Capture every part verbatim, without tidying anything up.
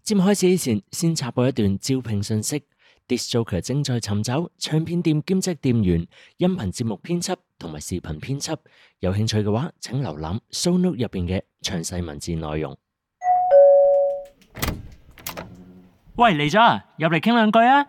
節目開始之前，先插播一段招聘信息。Disc Joker 正在尋找唱片店兼職店員、音頻節目編輯同埋視頻編輯。有興趣嘅話，請瀏覽 show note 入邊嘅詳細文字內容。喂，嚟咗啊！入嚟傾兩句啊！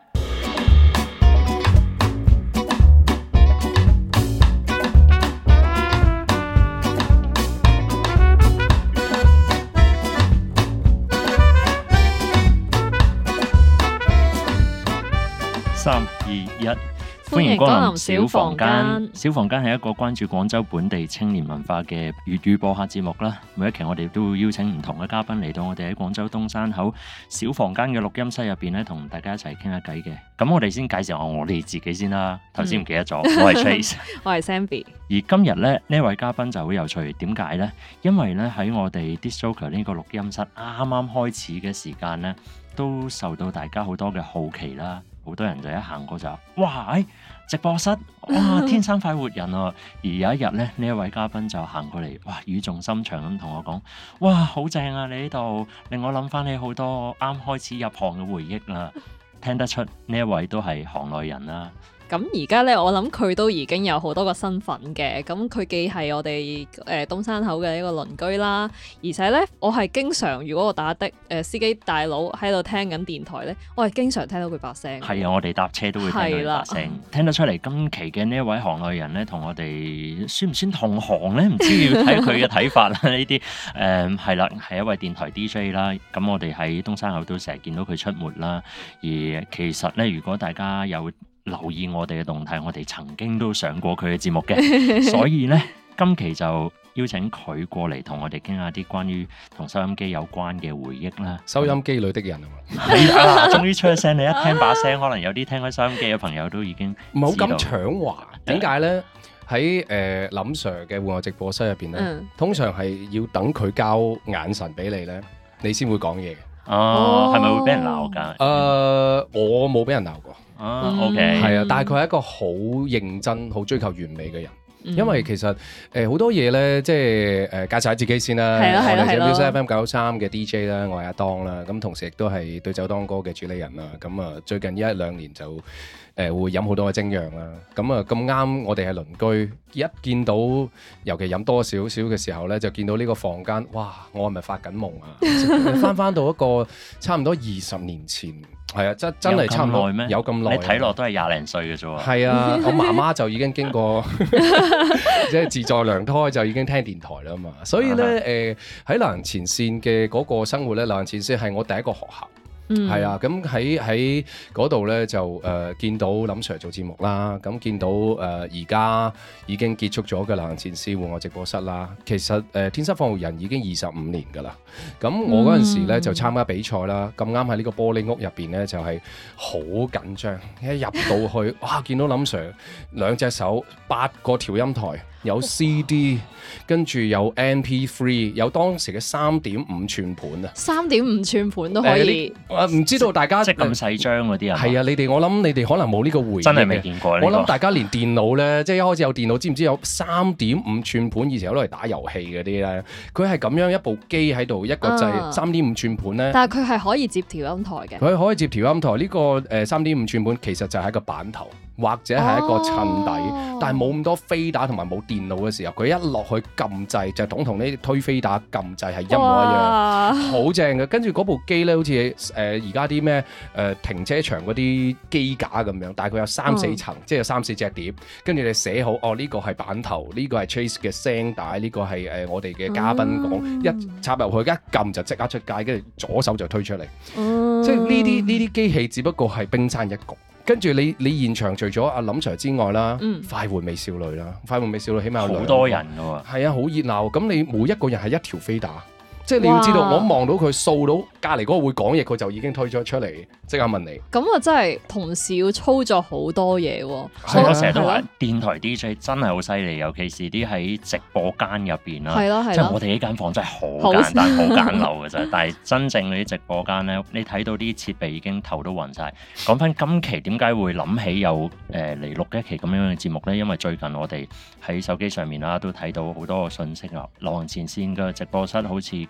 三二一，歡迎光臨小房間。小房間係一個關注廣州本地青年文化嘅粵語播客節目啦。每一期我哋都會邀請唔同嘅嘉賓嚟到我哋喺廣州東山口小房間嘅錄音室入邊咧，同大家一齊傾下偈嘅。咁我哋先介紹下我哋自己先啦。頭先唔記得咗，嗯、我係 Trace， 我係 Zenbi。 而今日咧呢位嘉賓就好有趣，點解呢？因為咧喺我哋 Disc Joker 呢個錄音室啱啱開始嘅時間咧，都受到大家好多嘅好奇啦。好多人就一行過就話哇，誒直播室，哇天生快活人啊！而有一日咧，呢一位嘉賓就行過嚟，哇語重心長咁同我講，哇好正啊！你呢度令我諗翻起好多啱開始入行嘅回憶啦。聽得出呢一位都係行內人啦。 咁而家咧，我諗佢都已經有好多個身份嘅。咁佢既係我哋誒、呃、東山口嘅一個鄰居啦，而且咧，我係經常如果我打的誒、呃、司機大佬喺度聽緊電台咧，我係經常聽到佢把聲。係啊，我哋搭車都會聽到佢把聲，聽得出嚟。今期嘅呢一位行內人咧，同我哋算唔算同行咧？唔知要睇佢嘅睇法啦。呢啲誒係啦，係一位電台 D J 啦。咁我哋喺東山口都成日見到佢出沒啦。而其實咧，如果大家有留意我哋嘅動態，我哋曾經都上過佢嘅節目嘅，所以咧今期就邀請佢過嚟同我哋傾下啲關於同收音機有關嘅回憶啦。 收音機裏的人啊嘛， 係啊，終於出咗聲，你一聽把聲，可能有啲聽開收音機嘅朋友都已經唔好咁搶話。點解咧？喺誒、呃、林 Sir 嘅戶外直播室入邊咧，嗯、通常係要等佢交眼神俾你咧，你先會講嘢嘅。 哦，係咪、哦、會俾人鬧㗎？誒、 呃，我冇俾人鬧過。 啊 OK， 係啊，但係佢係一個好認真、好追求完美嘅人。嗯、因為其實誒好、呃、多嘢咧，即係誒、呃、介紹下自己先啦。 係啊係啊係咯。 Music F M 九三嘅 D J 啦，我係阿當啦。咁同時亦都係對酒當歌嘅主理人啦。咁啊，最近一兩年就誒、呃、會飲好多嘅精釀啦。咁啊咁啱，我哋係鄰居，一見到尤其飲多少少嘅時候咧，就見到呢個房間，哇！我係咪發緊夢啊？翻翻到一個差唔多二十年前。係啊，真真係差唔多咩？有咁耐？ 你睇落都係廿零歲嘅啫喎。 係啊，我媽媽就已經經過即係自在娘胎就已經聽電台啦嘛。所以咧誒喺流行前線嘅嗰個生活咧，流行前線係我第一個學校。嗯，係啊，咁喺喺嗰度咧就誒、呃、見到林 Sir 做節目啦，咁見到誒而家已經結束咗嘅流行前線戶外直播室啦。其實誒、呃、天生放育人已經二十五年㗎啦。咁我嗰陣時咧就參加比賽啦，咁啱喺呢個玻璃屋入邊咧就係、是、好緊張，一入到去哇見到林 Sir 兩隻手八個調音台。有 C D， 跟住有 M P 三， 有當時嘅三點五寸盤啊！ 三點五寸盤都可以。 啊、呃，唔知道大家即係咁細張嗰啲啊？ 係啊，你哋我諗你哋可能冇呢個回憶， 真係未見過。 我諗大家連電腦咧，即係一開始有電腦，知唔知有三點五寸盤？以前攞嚟打遊戲嗰啲咧，佢係咁樣一部機喺度，一個掣三點五寸盤咧。 但係佢係可以接調音台嘅。 佢可以接調音台呢、呢個誒三點五寸盤，其實就係一個板頭。或者係一個襯底，哦、但係冇咁多飛打同埋冇電腦嘅時候，佢一落去撳掣就等同呢推飛打撳掣係一模一樣，好正嘅。跟住嗰部機咧，好似誒而家啲咩誒停車場嗰啲機架咁樣，大概有三四層，嗯、即係有三四隻碟。跟住你寫好，哦呢、呢個係板頭，呢、呢個係 Trace 嘅聲帶，呢、呢個係誒、呃、我哋嘅嘉賓講，嗯、一插入去一撳就即刻出街，跟住左手就推出嚟。嗯、即係呢啲呢啲機器只不過係冰山一角。跟住你你現場除咗阿林 Sir 之外啦，嗯、快活美少女啦，快活美少女起碼有好多人㗎喎， 係啊，好熱鬧。咁你每一個人係一條飛打。即係你要知道，哇我望到佢掃到隔離嗰個會講嘢，佢就已經推咗出嚟，即刻問你。 咁啊，真係同時要操作好多嘢喎。 所以我成日都話電台 D J 真係好犀利，尤其是啲喺直播間入邊啦。係咯係咯。即係我哋呢間房真係好簡單、好簡陋嘅啫。但係真正嗰啲直播間咧，你睇到啲設備已經頭都暈晒。講翻今期點解會諗起有誒嚟錄一期咁樣嘅節目咧？因為最近我哋喺手機上面啦都睇到好多個信息啊，流行前線嘅直播室好似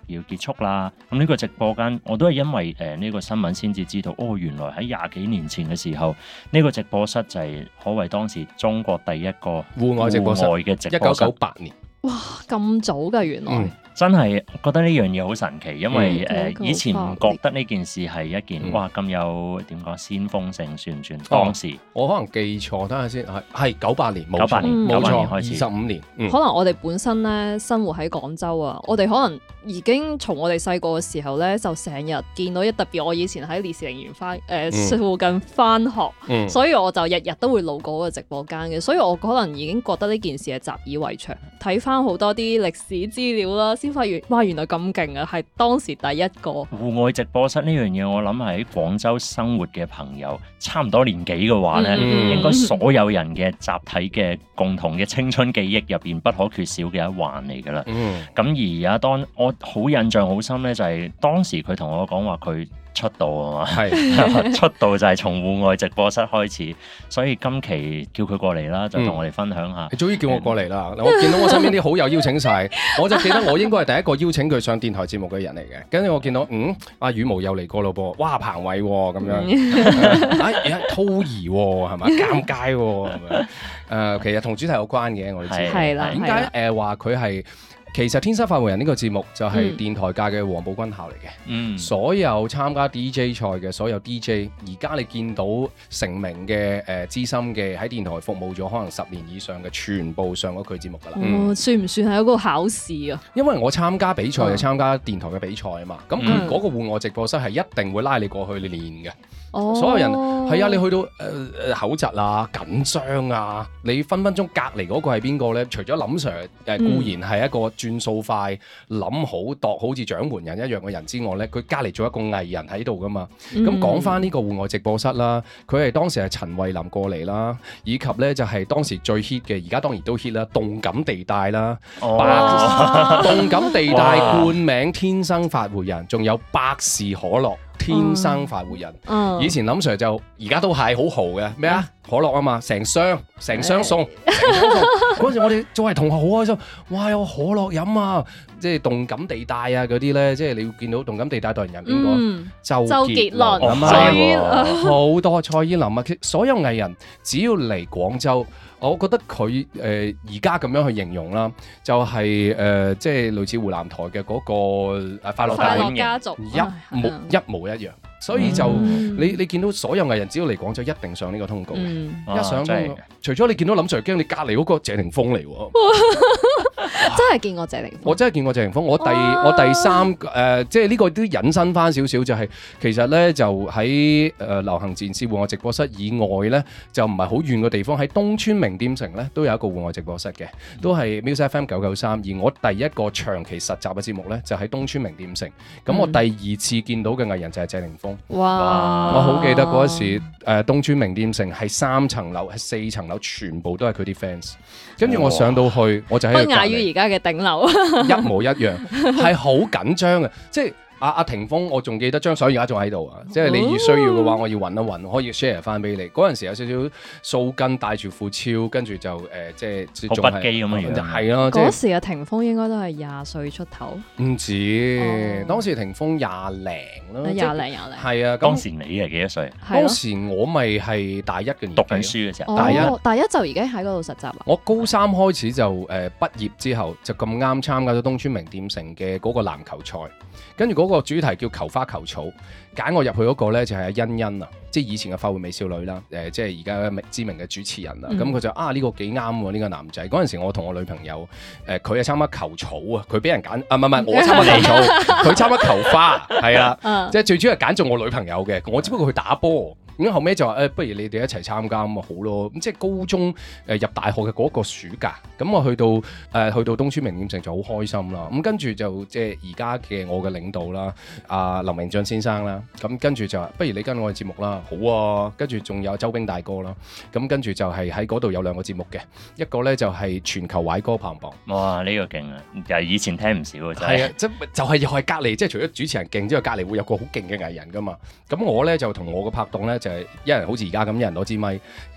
要結束啦。咁呢個直播間我都係因為誒呢、呃這個新聞先至知道，哦，原來喺廿幾年前嘅時候，呢、這個直播室就係可謂當時中國第一個戶外直播室嘅直播室， 一九九八年。 哇，咁早㗎原來。 嗯真係覺得呢樣嘢好神奇，因為誒、 嗯呃、以前唔覺得呢件事係一件、 嗯、 哇咁有點講先鋒性，算唔算？當時、 哦、我可能記錯，等下先，係係九八年，冇九八年， 冇九八年錯， 開始， 二十五年。嗯、 可能我哋本身咧生活喺廣州啊，我哋可能已經從我哋細個嘅時候咧，就成日見到一特別。我以前喺烈士陵園翻誒附近翻學， 嗯、 所以我就日日都會路過嗰個直播間嘅，所以我可能已經覺得呢件事係習以為常。睇翻好多啲歷史資料啦，先發現哇原來咁勁啊！係當時第一個戶外直播室呢樣嘢，我諗係喺廣州生活嘅朋友，差唔多年紀嘅話咧， 嗯、 應該所有人嘅集體嘅共同嘅青春記憶入邊不可缺少嘅一環嚟㗎啦。咁、 嗯、 而家當我好印象好深咧，就係當時佢同我講話佢出道啊嘛， 係出道就係從戶外直播室開始，所以今期叫佢過嚟啦，就同我哋分享下。 你終於叫我過嚟啦！我見到我身邊啲好友邀請晒，我就記得我應該係第一個邀請佢上電台節目嘅人嚟嘅。跟住我見到嗯，阿羽毛又嚟過咯噃，哇彭偉咁樣，哎而家濤兒係咪？尷尬咁樣。誒，其實同主題有關嘅，我哋知係啦。 點解誒話佢係？其實《天生快活人》呢個節目就係電台界嘅黃埔軍校嚟嘅，嗯、所有參加 D J 賽嘅所有 D J，而家你見到成名嘅誒資深嘅喺電台服務咗可能十年以上嘅，全部上咗佢節目㗎啦。 哦，嗯、算唔算係一個考試啊？ 因為我參加比賽就參加電台嘅比賽啊嘛，咁佢嗰個戶外直播室係一定會拉你過去練嘅。哦、所有人係啊，你去到誒誒、呃、口窒啊、緊張啊，你分分鐘隔離嗰個係邊個咧？除咗林 Sir 誒、呃、固然係一個轉數快、諗好度好似掌門人一樣嘅人之外咧，佢隔離做一個藝人喺度噶嘛。咁、嗯、講翻呢個戶外直播室啦，佢係當時係陳慧琳過嚟啦，以及咧就係、是、當時最 hit 嘅，而家當然都 hit 啦，動感地帶啦， 哦、 百動感地帶冠名天生發活人，仲有百事可樂。天生快活人，嗯、以前林 Sir 就而家都係好豪嘅咩啊？可樂啊嘛，成箱成箱送，成箱送。嗰陣時我哋作為同學好開心，哇有可樂飲啊！即係動感地帶啊嗰啲咧，即係你會見到動感地帶代言人邊個？嗯、周杰倫啊嘛，好多蔡依林啊，所有藝人只要嚟廣州。我覺得佢誒而家咁樣去形容啦，就係、是、誒、呃、即係類似湖南台嘅嗰個誒快樂大本營一模一模一樣，所以就、嗯、你你見到所有藝人只要嚟廣州一定上呢個通告，嗯、一上通告，啊、除咗你見到林 Sir 驚，你隔離嗰個謝霆鋒嚟喎。 真係見過謝霆鋒， 我真係見過謝霆鋒。我第我第三誒、呃，即係呢個都引申翻少少，就係、是、其實咧就喺誒、呃、流行前線戶外直播室以外咧，就唔係好遠嘅地方，喺東村名店城咧都有一個戶外直播室嘅，都係 Music F M 九九三。而我第一個長期實習嘅節目咧，就喺、是、東村名店城。咁、嗯、我第二次見到嘅藝人就係謝霆鋒。哇！我好記得嗰時誒、呃、東村名店城係三層樓，係四層樓，全部都係佢啲 fans。跟住我上到去，我就喺度隔離。不亞於而家嘅頂樓， 一模一樣，係好緊張嘅，即係。阿阿霆鋒，我仲記得張相而家仲喺度啊！即係你要需要嘅話，我要揾一揾，可以 share 翻俾你。嗰陣時有少少掃根，帶住副超，跟住就誒、呃，即係好不羈咁樣樣。 係咯， 嗰時嘅霆鋒應該都係廿歲出頭。 唔止，哦、當時霆鋒廿零咯， 廿零廿零。 係啊， 當時你係幾多歲？ 當時我咪係大一嘅年紀， 讀緊書嘅時候。 大一，大一就已經喺嗰度實習啦。 我高三開始就誒、呃、畢業之後，就咁啱參加咗東村名店城嘅嗰個籃球賽。跟住嗰個主題叫求花求草，揀我入去嗰個咧就係阿欣欣啊，即係以前嘅快活美少女啦，誒、呃、即係而家知名嘅主持人啦。咁佢、嗯、就啊呢、呢個幾啱喎，呢、呢個男仔。嗰陣時我同我女朋友誒佢係參加球草啊，佢俾人揀啊，唔係唔係我參加球草，佢參加球花，係啦，嗯、即係最主要係揀中我女朋友嘅，我只不過去打波。咁後尾就話誒、欸，不如你哋一齊參加咁咪好咯。咁即係高中誒、呃、入大學嘅嗰個暑假，咁我去到誒、呃、去到東村名店城就好開心啦。咁跟住就即係而家嘅我嘅領導啦，阿、呃、林明俊先生啦。咁跟住就話不如你跟我嘅節目啦，好啊。跟住仲有周兵大哥啦。咁跟住就係喺嗰度有兩個節目嘅，一個咧就係、是、全球壞歌排行榜。哇！ 呢、這個勁啊，又係以前聽唔少嘅真係。 係啊，即就係又係隔離，即係除咗主持人勁之外，隔離會有個好勁嘅藝人噶嘛。咁我咧就同我個拍檔咧。就係一人好似而家咁，一人攞支咪，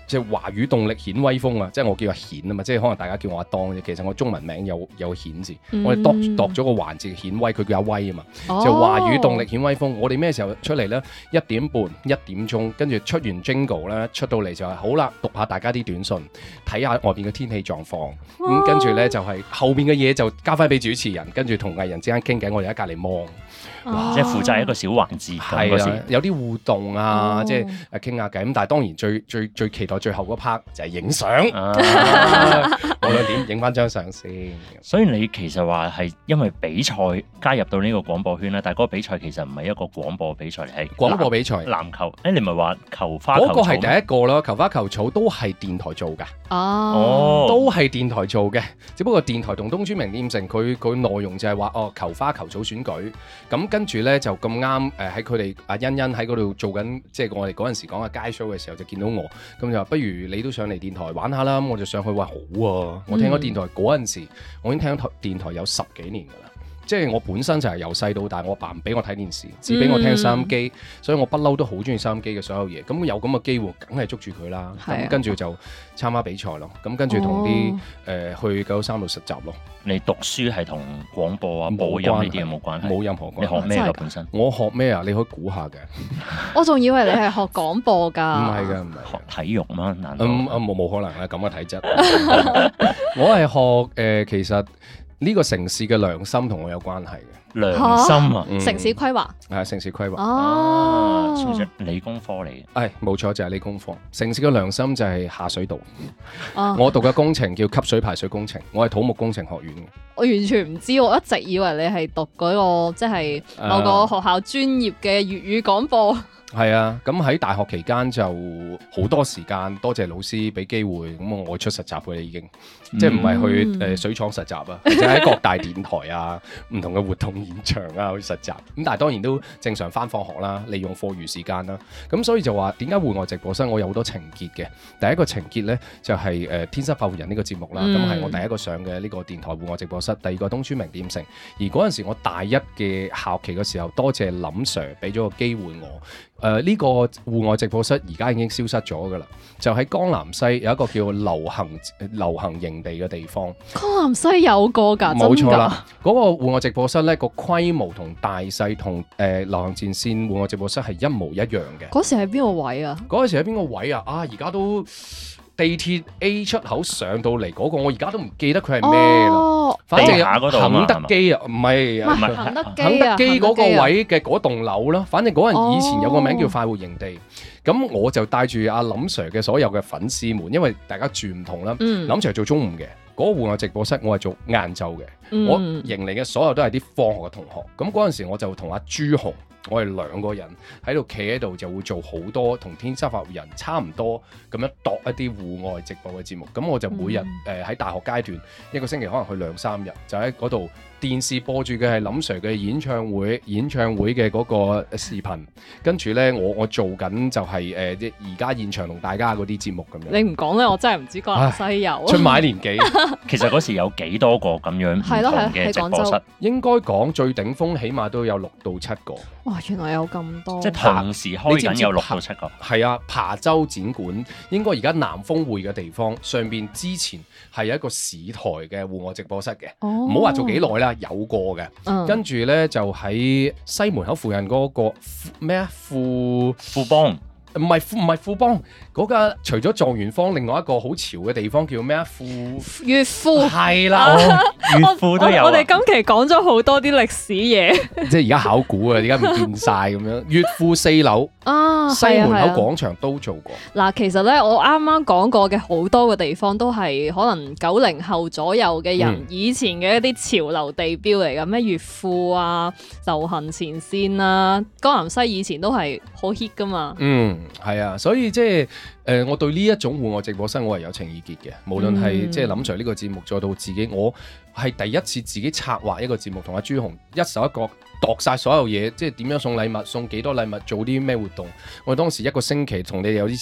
即係華語動力顯威風啊！即係我叫阿顯啊嘛，即係可能大家叫我阿當啫。其實我中文名有有顯字，嗯、我哋度度咗個環字顯威，佢叫阿威啊嘛。哦、就華語動力顯威風，我哋咩時候出嚟咧？一點半、一點鐘，跟住出完 Jingle 咧，出到嚟就係、是、好啦，讀下大家啲短信，睇下外邊嘅天氣狀況。咁跟住咧就係、是、後邊嘅嘢就交翻俾主持人，跟住同藝人之間傾偈，我哋喺隔離望。 哇即係負責一個小環節， 係啊，有啲互動啊， 哦、 即係誒傾下偈。咁但係當然最最最期待最後嗰 part 就係影相， 啊、 無論點影翻張相先。 所以你其實話係因為比賽加入到呢個廣播圈啦，但係嗰個比賽其實唔係一個廣播比賽嚟，係廣播比賽。 籃球，誒你唔係話球花球草？ 嗰個係第一個啦，球花球草都係電台做㗎。 哦， 都係電台做嘅，只不過電台同東川名店城佢佢內容就係話哦球花球草選舉，咁跟住咧就咁啱誒喺佢哋阿欣欣喺嗰度做緊，即係我哋嗰陣時講嘅街 show 嘅時候就見到我，咁就話不如你都上嚟電台玩下啦，咁我就上去話好啊，我聽咗電台嗰陣時，嗯、我已經聽咗電台有十幾年㗎啦。即係我本身就係由細到大，我爸唔俾我睇電視，只俾我聽收音機，嗯、所以我不嬲都好中意收音機嘅所有嘢。咁有咁嘅機會，梗係捉住佢啦。咁、啊、跟住就參加比賽咯。咁跟住同啲誒去九三度實習咯。 你讀書係同廣播啊、播音呢啲有冇關係？ 冇任何關係。 你學咩㗎本身？ 我學咩啊？你可以估下嘅。 我仲以為你係學廣播㗎。 唔係㗎，唔係學體育嗎？難道？ 嗯冇冇可能啦，咁嘅體質。我係學誒、呃，其實。呢個城市嘅良心同我有關係嘅。 良心啊， 嗯、城市規劃係城市規劃哦， 算係理工科嚟嘅。 係冇錯，就係、是、理工科。城市嘅良心就係下水道。 哦、 我讀嘅工程叫吸水排水工程，我係土木工程學院嘅。 我完全唔知，我一直以為你係讀嗰、那個即係、就是、某個學校專業嘅粵語廣播。 係啊，咁喺大學期間就好多時間，多謝老師俾機會，咁我外出實習嘅啦已經，即係唔係去誒、呃、水廠實習啊，或者喺各大電台啊、唔同嘅活動現場啊去實習。咁但係當然都正常返放學啦，利用課餘時間啦。咁所以就話點解戶外直播室我有好多情結嘅？第一個情結咧就係、是、誒、呃、天生快活人呢個節目啦，咁係、嗯、我第一個上嘅呢個電台戶外直播室。第二個東川名店城，而嗰陣時我大一嘅校期嘅時候，多謝林 Sir 俾咗個機會我。誒呢、呃這個戶外直播室而家已經消失咗㗎啦，就喺江南西有一個叫流行流行營地嘅地方。 江南西有個㗎， 冇錯啦。嗰、那個戶外直播室咧，個規模同大細同誒流行前線戶外直播室係一模一樣嘅。 嗰時喺邊個位啊？ 嗰陣時喺邊個位啊？啊，而家都地鐵 A 出口上到嚟嗰、那個，我而家都唔記得佢係咩啦。哦、反正下嗰度肯德基啊，唔係唔係肯德基肯德基嗰個位嘅嗰棟樓啦。反正嗰陣以前有個名叫快活營地，咁、哦、我就帶住阿林 Sir 嘅所有嘅粉絲們，因為大家住唔同啦。嗯、林 Sir 做中午嘅，嗰、那個戶外直播室我係做晏晝嘅。嗯、我迎嚟嘅所有都係啲放學嘅同學。咁嗰陣時我就同阿朱紅。我哋兩個人喺度企喺度，就會做好多同天生快活人差唔多咁樣度一啲戶外直播嘅節目。咁我就每日誒喺、嗯呃、大學階段一個星期可能去兩三日，就喺嗰度電視播住嘅係林 Sir 嘅演唱會，演唱會嘅嗰個視頻。跟住咧，我我做緊就係誒而家現場同大家嗰啲節目咁樣。 你唔講咧，我真係唔知江南西有出賣年紀。 其實嗰時有幾多個咁樣唔同嘅直播室？ 應該講最頂峰，起碼都有六到七個。 哇！原來有咁多， 即係同時開緊有六到七個。 係啊，琶洲展館應該而家南豐匯嘅地方上邊之前係有一個市台嘅戶外直播室嘅。唔好話做幾耐啦，有過嘅。嗯、跟住咧就喺西門口附近嗰、嗰個咩啊富富邦。 唔係富唔係富邦嗰個，除咗狀元坊，另外一個好潮嘅地方叫咩啊？富悦富係啦， 悦富都有。 我哋今期講咗好多啲歷史嘢， 即係而家考古啊，而家唔見晒咁樣。悦富四樓啊，西門口廣場都做過。嗱， 其實咧，我啱啱講過嘅好多個地方都係可能九零後左右嘅人、嗯、以前嘅一啲潮流地標嚟㗎，咩悦富啊、流行前線啊、江南西以前都係好 hit 㗎嘛。 嗯。係啊，所以即係誒，我對呢一種戶外直播室我係有情意結嘅。無論係即係林 Sir 呢個節目，再到自己，我係第一次自己策劃一個節目，同阿朱紅一手一腳度晒所有嘢，即係點樣送禮物，送幾多禮物，做啲咩活動。我當時一個星期同你哋有啲似，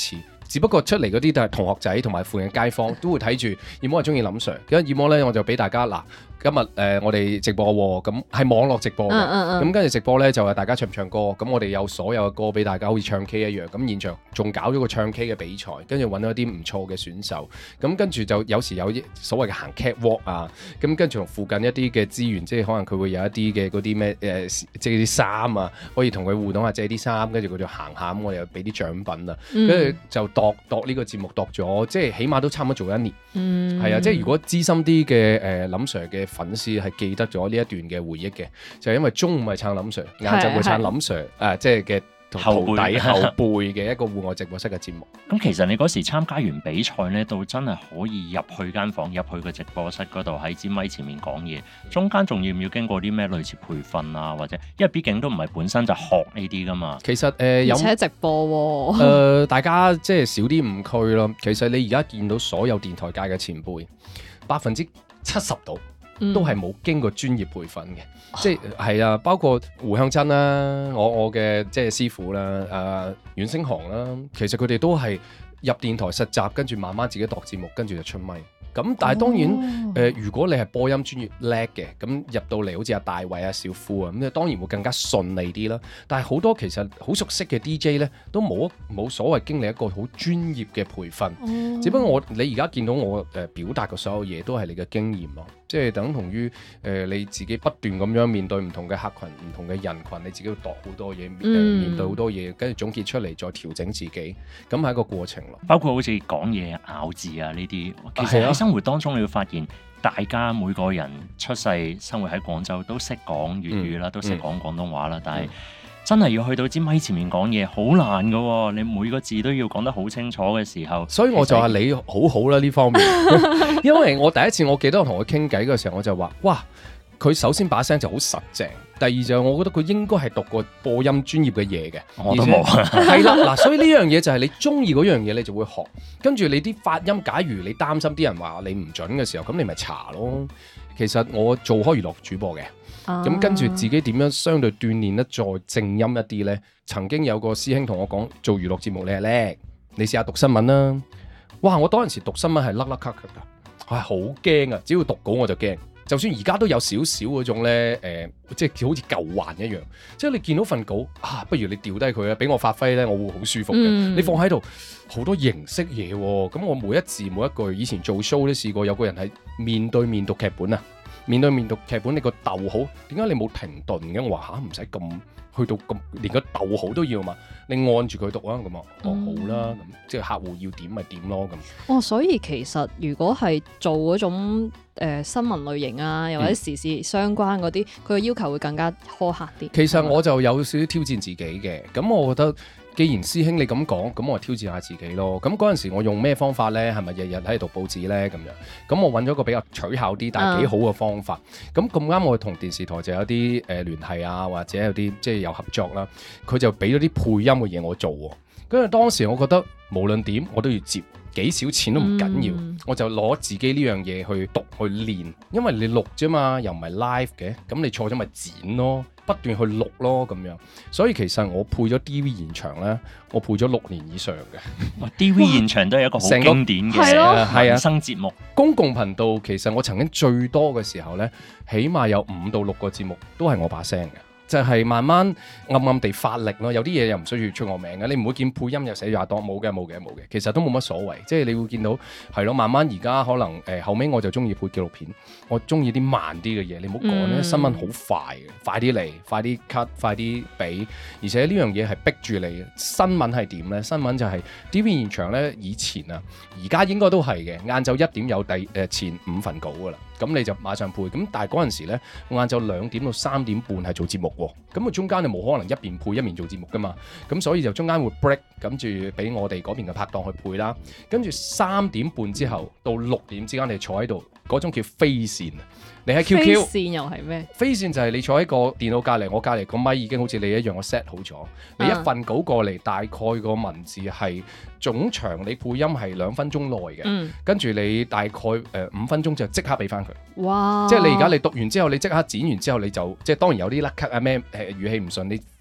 只不過出嚟嗰啲都係同學仔同埋附近街坊都會睇住。二魔係中意林 Sir， 咁二魔咧我就俾大家嗱。今日誒、呃、我哋直播喎，咁係網絡直播嘅，咁跟住直播咧就係大家唱唔唱歌，咁我哋有所有嘅歌俾大家，好似唱 K 一樣，咁現場仲搞咗個唱 K 嘅比賽，跟住揾到一啲唔錯嘅選手，咁跟住就有時有所謂嘅行 catwalk 啊，咁跟住同附近一啲嘅資源，即係可能佢會有一啲嘅嗰啲咩誒，即係啲衫啊，可以同佢互動下借啲衫，跟住佢就行下，咁我哋又俾啲獎品啊，跟住、嗯、就度度呢個節目度咗，即係起碼都差唔多做一年，係、嗯、啊，即係如果資深啲嘅誒林 Sir 嘅粉絲係記得咗呢一段嘅回憶嘅，就係、是、因為中午係撐林 Sir， 晏晝會撐林 Sir， 誒、呃，即係嘅徒弟後輩嘅一個戶外直播室嘅節目。 咁其實你嗰時參加完比賽咧，到真係可以入去間房，入去個直播室嗰度喺支咪前面講嘢，中間仲要唔要經過啲咩類似培訓啊？或者因為畢竟都唔係本身就學呢啲噶嘛。 其實誒、呃、有而且直播喎、 誒、呃，大家即係少啲誤區咯。其實你而家見到所有電台界嘅前輩，百分之七十度。都係冇經過專業培訓嘅，嗯、即係係啊，包括胡向真啦，我我嘅即係師傅啦，誒、呃、阮星航啦，其實佢哋都係入電台實習，跟住慢慢自己度節目，跟住就出咪。咁但係當然誒、哦呃，如果你係播音專業叻嘅，咁入到嚟好似阿大衛啊、小夫啊，咁當然會更加順利啲啦。但係好多其實好熟悉嘅 D J 咧，都冇冇所謂經歷一個好專業嘅培訓。哦、只不過我你而家見到我誒、呃、表達嘅所有嘢，都係你嘅經驗咯。即係等同於誒、呃、你自己不斷咁樣面對唔同嘅客群、唔同嘅人群，你自己要度好多嘢，嗯、面對好多嘢，跟住總結出嚟再調整自己，咁係一個過程咯。 包括好似講嘢、咬字啊呢啲，其實喺生活當中你會發現，大家每個人出世生活喺廣州都識講粵語啦，嗯、都識講廣東話啦，嗯、但係真係要去到支咪前面講嘢，好難㗎喎！你每個字都要講得好清楚嘅時候，所以我就話你好好啦呢方面，因為我第一次我記得我同佢傾偈嘅時候，我就話：哇！佢首先把聲就好實淨，第二就我覺得佢應該係讀過播音專業嘅嘢嘅，我都冇。係啦，嗱，所以呢樣嘢就係你中意嗰樣嘢，你就會學。跟住你啲發音，假如你擔心啲人話你唔準嘅時候，咁你咪查咯。其實我做開娛樂主播嘅。咁、啊、跟住自己點樣相對鍛鍊得再正音一啲呢？曾經有個師兄同我講，做娛樂節目你係叻，你試下讀新聞啦。哇！我當陣時讀新聞係甩甩咳咳㗎，係好驚啊！只要讀稿我就驚。就算而家都有少少嗰種呢，誒、呃，即係好似舊患一樣。即係你見到份稿啊，不如你掉低佢啊，俾我發揮呢，我會好舒服嘅。嗯、你放喺度好多形式嘢喎，咁我每一字每一句，以前做 show 都試過，有個人係面對面讀劇本啊。面對面讀劇本，你個逗號點解你冇停頓嘅？我話嚇唔使咁去到咁，連個逗號都要嘛？你按住佢讀啊咁啊，哦好啦，咁即係客戶要點咪點咯咁。哦， 所以其實如果係做嗰種誒、呃、新聞類型啊，又或者時事相關嗰啲，佢嘅、嗯、要求會更加苛刻啲。其實我就有少少挑戰自己嘅，咁我覺得。既然師兄你咁講，咁我挑戰下自己咯。咁嗰陣時我用咩方法呢？係咪日日喺度讀報紙呢？咁樣，咁我揾咗個比較取巧啲，但係幾好嘅方法。咁咁啱我同電視台就有啲誒、呃、聯繫啊，或者有啲即係有合作啦。佢就俾咗啲配音嘅嘢我做喎。跟住當時我覺得無論點我都要接。幾少錢都唔緊要，嗯、我就攞自己呢樣嘢去讀去練，因為你錄啫嘛，又唔係 live 嘅，咁你錯咗咪剪咯，不斷去錄咯咁樣。所以其實我配咗 D V 現場咧，我配咗六年以上嘅。D V 現場都係一個好經典嘅衍生節目。 公共頻道其實我曾經最多嘅時候咧，起碼有五到六個節目都係我把聲嘅。就係慢慢暗暗地發力咯，有啲嘢又唔需要出我名嘅，你唔會見配音又寫咗阿當，冇嘅冇嘅冇嘅，其實都冇乜所謂，即係你會見到係咯，慢慢而家可能誒、呃、後尾我就中意配紀錄片，我中意啲慢啲嘅嘢，你唔好講咧，嗯、新聞好快嘅，快啲嚟，快啲 cut，快啲俾，而且呢樣嘢係逼住你嘅。新聞係點咧？新聞就係 D V 現場咧，以前啊，而家應該都係嘅，晏晝一點有第誒、呃、前五份稿噶啦。咁你就馬上配，咁但係嗰陣時咧，我晏晝兩點到三點半係做節目喎，咁啊中間你冇可能一邊配一邊做節目噶嘛，咁所以就中間會 break，跟住俾我哋嗰邊嘅拍檔去配啦，跟住三點半之後到六點之間你坐喺度，嗰種叫飛線。你喺 Q Q 飛線又係咩？ 飛線就係你坐喺個電腦隔離，我隔離個咪已經好似你一樣，我 set 好咗。你一份稿過嚟，大概個文字係總長，你配音係兩分鐘內嘅，嗯、跟住你大概誒五、呃、分鐘就即刻俾翻佢。哇！即係你而家你讀完之後，你即刻剪完之後，你就即係當然有啲甩咳啊咩誒語氣唔順，你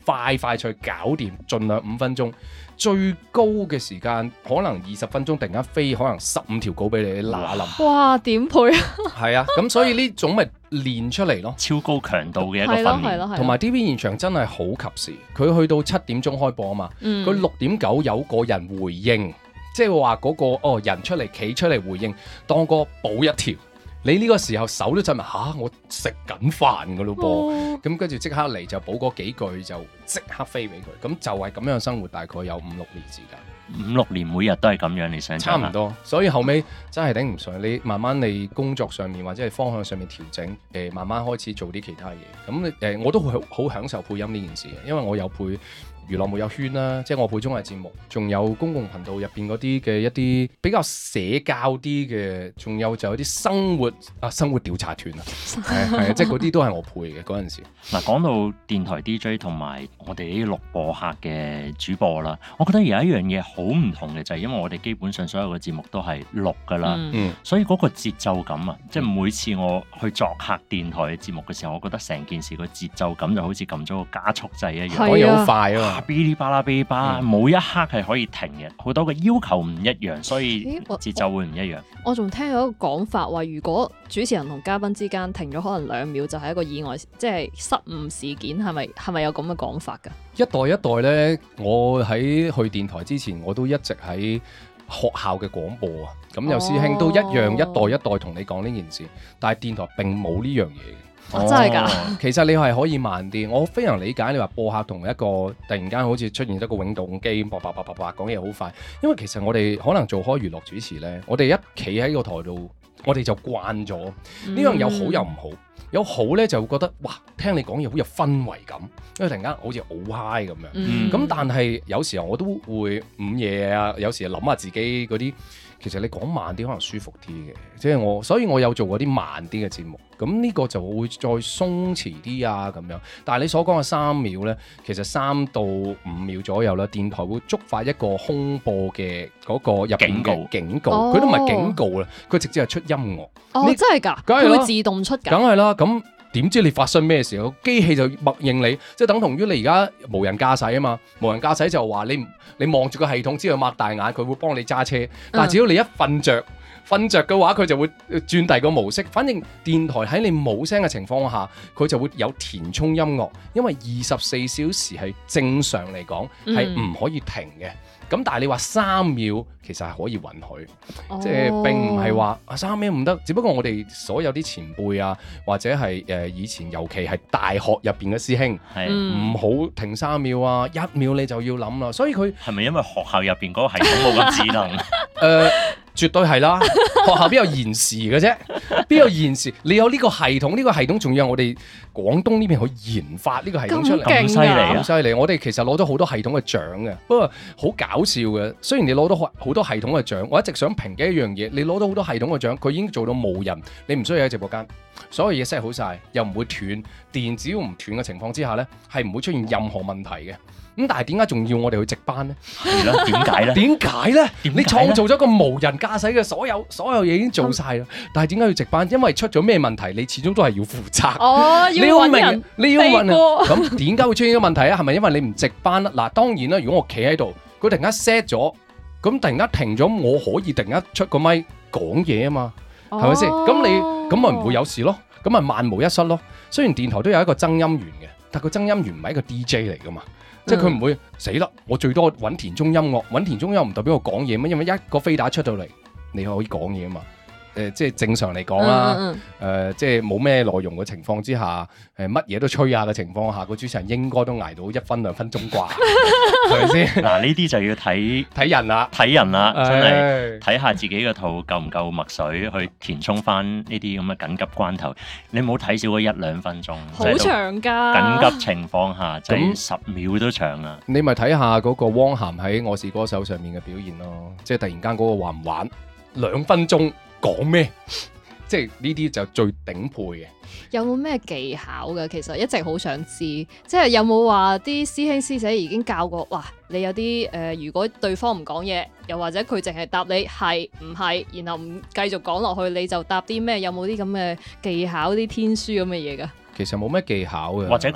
快快脆搞掂，盡量五分鐘。最高嘅時間可能二十分鐘，突然間飛可能十五條稿俾你，你嗱冧。 哇！點配啊？ 係啊，咁所以呢種咪練出嚟咯， 超高強度嘅一個係咯訓練。 係咯係咯。 同埋 T V 現場真係好及時，佢去到七點鐘開播啊嘛，佢六點九有個人回應，即係話嗰個哦人出嚟企出嚟回應，當個補一條。你呢個時候手都震埋嚇，我食緊飯噶咯噃，咁跟住即刻嚟就補嗰幾句就即刻飛俾佢，咁就係咁樣生活，大概有五六年時間。 五六年每日都係咁樣，你想差唔多，所以後尾真係頂唔順。你慢慢你工作上面或者係方向上面調整，誒、呃、慢慢開始做啲其他嘢。咁誒、呃、我都好好享受配音呢件事嘅，因為我有配娛樂沒有圈啦，即係我配綜藝節目，仲有公共頻道入邊嗰啲嘅一啲比較社交啲嘅，仲有就有啲生活啊生活調查團啊，係係即係嗰啲都係我配嘅嗰陣時。 嗱，講到電台 D J 同埋我哋呢啲錄播客嘅主播啦，我覺得有一樣嘢好唔同嘅就係因為我哋基本上所有嘅節目都係錄㗎啦， 嗯， 所以嗰個節奏感啊，即係每次我去作客電台嘅節目嘅時候，我覺得成件事個節奏感就好似撳咗個加速掣一樣， 係啊可以好快啊嘛。 嗶哩吧啦嗶哩吧啦，冇一刻係可以停嘅，好多嘅要求唔一樣，所以節奏會唔一樣。 我仲聽到一個講法話，如果主持人同嘉賓之間停咗可能兩秒，就係一個意外，即係失誤事件，係咪係咪有咁嘅講法㗎？ 一代一代呢，我喺去電台之前，我都一直喺學校嘅廣播啊。咁有師兄都一樣，一代一代同你講呢件事，但係電台並冇呢樣嘢。 哦、真係㗎， 其實你係可以慢啲，我非常理解你話播客同一個突然間好似出現咗個永動機，叭叭叭叭叭講嘢好快，因為其實我哋可能做開娛樂主持呢，我哋一企喺個台度，我哋就慣咗呢、嗯、樣有好有唔好，有好呢就會覺得哇，聽你講嘢好有氛圍感，因為突然間好似好 high 咁樣，咁、嗯、但係有時候我都會午夜啊，有時諗下自己嗰啲。其實你講慢啲可能舒服啲嘅，即係我，所以我有做過啲慢啲嘅節目，咁呢個就會再鬆弛啲啊咁樣。但係你所講嘅三秒呢，其實三到五秒左右啦，電台會觸發一個空播嘅嗰個入邊嘅警告，佢都唔係警告啦，佢直接係出音樂。 哦，真係㗎，佢會自動出㗎。 梗係啦，咁。點知你發生咩事？機器就默認你，即係等同於你而家無人駕駛啊嘛。無人駕駛就話你你望住個系統之後擘大眼，佢會幫你揸車。但係只要你一瞓着，瞓着嘅話，佢就會轉第二個模式。反正電台喺你冇聲嘅情況下，佢就會有填充音樂，因為二十四小時係正常嚟講係唔可以停嘅。咁但係你話三秒其實係可以允許，哦、即係並唔係話三秒唔得，只不過我哋所有啲前輩啊，或者係誒、呃、以前尤其係大學入邊嘅師兄，唔、嗯、好停三秒啊，一秒你就要諗啦。所以佢係咪因為學校入邊嗰個系統冇咁智能？誒、 呃，絕對係啦，學校邊有延時嘅啫？邊有延時？你有呢個系統，呢、呢個系統仲要我哋廣東呢邊去研發呢個系統出嚟， 咁犀利啊！ 咁犀利！我哋其實攞咗好多系統嘅獎嘅，不過好搞笑嘅。雖然你攞到好多系統嘅獎，我一直想評嘅一樣嘢，你攞到好多系統嘅獎，佢已經做到無人，你唔需要喺直播間，所有嘢 set 好晒，又唔會斷電，只要唔斷嘅情況之下呢，係唔會出現任何問題嘅。咁但係點解仲要我哋去值班呢？ 係咯，點解呢？ 點解呢？你創造咗個無人駕駛嘅所有所有嘢已經做晒啦，嗯、但係點解要值班？因為出咗咩問題，你始終都係要負責。 哦，要揾人你要問人。 過咁點解會出現咗問題啊？係咪因為你唔值班啊？嗱，當然啦，如果我企喺度，佢突然間 set 咗，咁突然間停咗，我可以突然間出個咪講嘢啊嘛，係咪先？咁你咁咪唔會有事咯，咁咪萬無一失咯。雖然電台都有一個增音員嘅，但個增音員唔係一個 D J 嚟噶嘛。即係佢唔會死啦！我最多揾田中音樂，揾田中音樂唔代表我講嘢咩？因為一個飛打出到嚟，你可以講嘢啊嘛。誒、呃，即係正常嚟講啦。誒、嗯呃，即係冇咩內容嘅情況之下，誒乜嘢都吹下嘅情況下，個主持人應該都捱到一分兩分鐘啩，係咪先？嗱， 呢啲就要睇睇人啦， 睇人啦，真係睇下自己個肚夠唔夠墨水去填充翻呢啲咁嘅緊急關頭。你唔好睇少嗰一兩分鐘， 好長㗎。 緊急情況下，就係十秒都長啊！ 你咪睇下嗰個汪涵喺《我是歌手》上面嘅表現咯，即係突然間嗰個玩唔玩兩分鐘。講咩？即係呢啲就最頂配嘅。 有冇咩技巧嘅？其實一直好想知，即係有冇話啲師兄師姐已經教過？哇！你有啲誒、呃，如果對方唔講嘢，又或者佢淨係答你係唔係，然後唔繼續講落去，你就答啲咩？有冇啲咁嘅技巧、啲天書咁嘅嘢㗎？ 其實冇咩技巧嘅， 或者講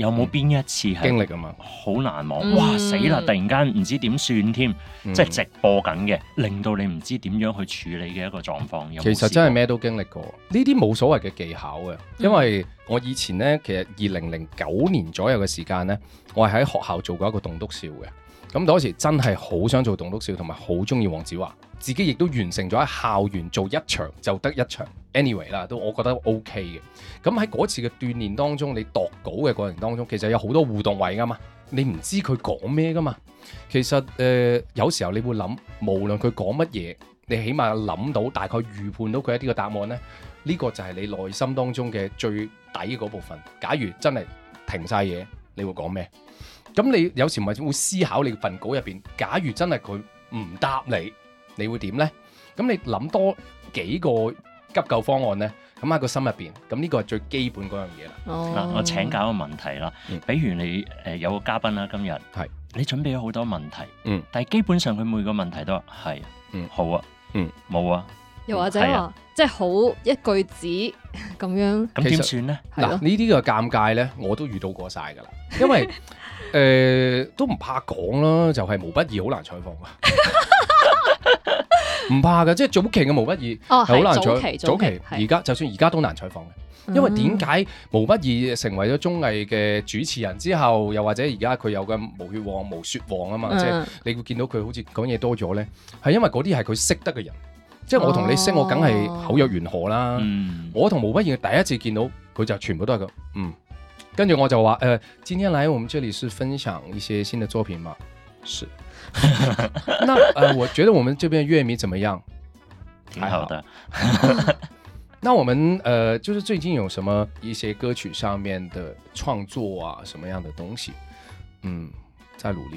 有冇邊一次係經歷啊嘛？ 好難忘？ 嗯哇死啦！突然間唔知點算添， 嗯即係直播緊嘅，令到你唔知點樣去處理嘅一個狀況。有冇其實真係咩都經歷過，呢啲冇所謂嘅技巧嘅，因為我以前呢，其實二零零九年左右嘅時間呢，我係喺學校做過一個棟篤笑嘅。咁嗰時真係好想做棟篤笑，同埋好中意黃子華，自己亦都完成咗喺校園做一場就得一場。anyway 啦，都我覺得 OK 嘅。咁喺嗰次嘅鍛鍊當中，你度稿嘅過程當中，其實有好多互動位噶嘛，你唔知佢講咩噶嘛。其實誒、呃，有時候你會諗，無論佢講乜嘢，你起碼諗到大概預判到佢一啲嘅答案呢。呢、呢個就係你內心當中嘅最底嗰部分。假如真係停晒嘢，你會講咩？咁你有時咪會思考你份稿入邊，假如真係佢唔答你，你會點呢？咁你諗多幾個急救方案呢？咁喺個心入邊，咁呢個係最基本嗰樣嘢啦。 嗱、 哦， 我請教一個問題啦， 嗯比如你誒、呃、有個嘉賓啦，今日係你準備咗好多問題， 嗯， 但係基本上佢每個問題都話係， 嗯好啊， 嗯， 冇啊， 又或者係啊話即係好一句子咁樣， 咁點算呢？ 係咯嗱，呢啲嘅尷尬呢，我都遇到過晒噶啦，因為誒、呃、都唔怕講啦，就係、是、毛不易好難採訪噶，唔怕噶，即係早期嘅毛不易哦係好難早期採， 早期而家就算而家都難採訪嘅，因為點解毛不易成為咗綜藝嘅主持人之後，又或者而家佢有個無血王、無雪王啊嘛， 嗯即係你會見到佢好似講嘢多咗呢，係因為嗰啲係佢識得嘅人，即係我同你識，我梗係口若懸河啦。 嗯， 我同毛不易第一次見到佢就全部都係咁，嗯，跟住我就話誒、呃，今天來我們這裡是分享一些新的作品嘛，是。那誒、呃，我覺得我們這邊粵語怎麼樣？ 挺好的。 那我們誒、呃，就是最近有什麼一些歌曲上面的創作啊，什麼樣的東西？嗯，在努力。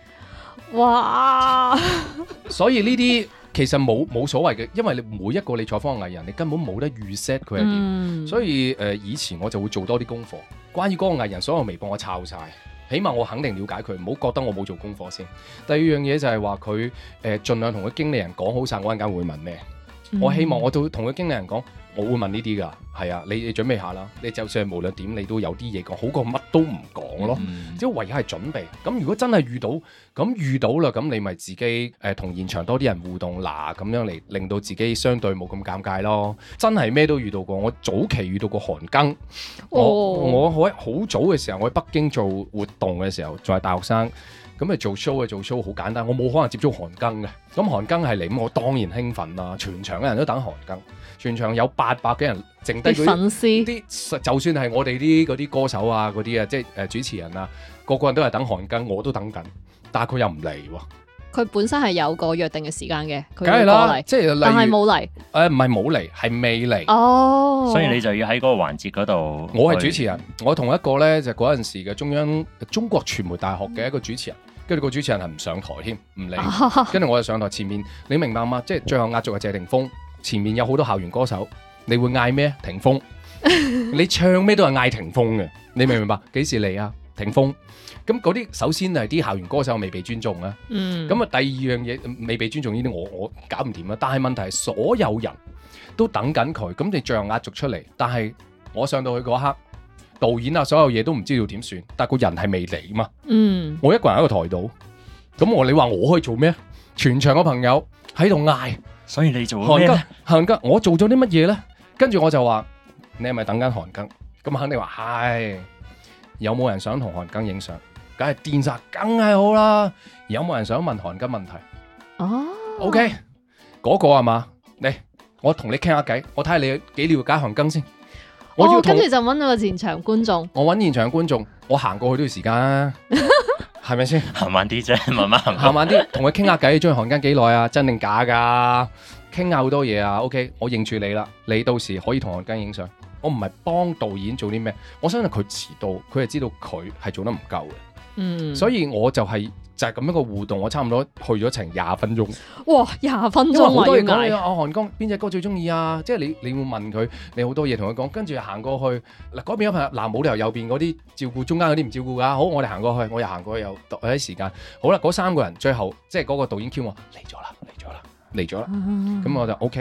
哇！ 所以呢啲其實冇冇所謂嘅，因為你每一個你採訪嘅藝人，你根本冇得預 set 佢係點。 嗯、 所以誒、呃，以前我就會做多啲功課，關於嗰個藝人所有微博我抄晒，起碼我肯定了解佢，唔好覺得我冇做功課先。第二樣嘢就係話佢誒，盡量同佢經理人講好晒，我陣間會問咩。 嗯、 我希望我都同佢經理人講，我會問呢啲㗎，係啊，你你準備下啦，你就算係無論點，你都有啲嘢講，好過乜都唔講咯。 嗯即係唯有係準備。咁如果真係遇到，咁遇到啦，咁你咪自己誒同、呃、現場多啲人互動，嗱咁樣嚟令到自己相對冇咁尷尬咯。真係咩都遇到過，我早期遇到過韓庚， 哦、 我我喺好早嘅時候，我喺北京做活動嘅時候，仲係大學生。咁咪做 show 嘅做 show 好簡單，我冇可能接觸韓庚嘅。咁韓庚係嚟，咁我當然興奮啦。全場嘅人都等韓庚，全場有八百幾人，剩低嗰啲粉絲， 啲就算係我哋啲嗰啲歌手啊，嗰啲啊，即係誒主持人啊，個個人都係等韓庚，我都等緊，但係佢又唔嚟喎。 佢本身係有個約定嘅時間嘅，佢梗係啦， 要過嚟， 即係但係例如冇嚟。 誒唔係冇嚟，係未嚟。 哦， 所以你就要喺嗰個環節嗰度。 我係主持人，我同一個咧就嗰陣時嘅中央中國傳媒大學嘅一個主持人。跟住個主持人係唔上台添，唔理。跟住我就上台前面，你明白嗎？即係最後壓軸係謝霆鋒，前面有好多校園歌手，你會嗌咩？霆鋒，你唱咩都係嗌霆鋒嘅，你明唔明白？幾時嚟啊？霆鋒。咁嗰啲首先係啲校園歌手未被尊重啊。 嗯。 咁啊，第二樣嘢未被尊重呢啲，我我搞唔掂啦。但係問題係所有人都等緊佢，咁你最後壓軸出嚟，但係我上到去嗰刻。導演啊，所有嘢都唔知道點算，但係個人係未嚟嘛。 嗯， 我一個人喺個台度，咁我你話我可以做咩？全場嘅朋友喺度嗌， 所以你做咗咩咧？ 韓庚，我做咗啲乜嘢咧？跟住我就話：你係咪等緊韓庚？咁肯定話係。有冇人想同韓庚影相？梗係電殺，梗係好啦。有冇人想問韓庚問題？ 哦 ，OK，嗰個係嘛？嚟，我同你傾下偈，我睇下你幾了解韓庚先。我要哦，跟住就揾到個現場觀眾。 我揾現場觀眾，我行過去都要時間啊，係咪先？ 行慢啲啫，慢慢行。 行慢啲，同佢傾下偈，中意韓庚幾耐啊？真定假㗎？傾下好多嘢啊。OK，我認住你啦，你到時可以同韓庚影相。我唔係幫導演做啲咩，我相信佢遲到，佢係知道佢係做得唔夠嘅。 嗯， 所以我就係、是。就係咁樣個互動，我差唔多去咗成廿分鐘。 哇，廿分鐘因為好多嘢啊！ 講啊，韓庚邊隻歌最中意啊？即係你你會問佢，你好多嘢同佢講，跟住行過去嗱嗰邊有朋友嗱冇理由右邊嗰啲照顧，中間嗰啲唔照顧㗎。好，我哋行過去，我又行過去又有啲時間。好啦，嗰三個人最後即係嗰個導演 Q 我嚟咗啦，嚟咗啦，嚟咗啦。咁、 嗯、 我就 OK。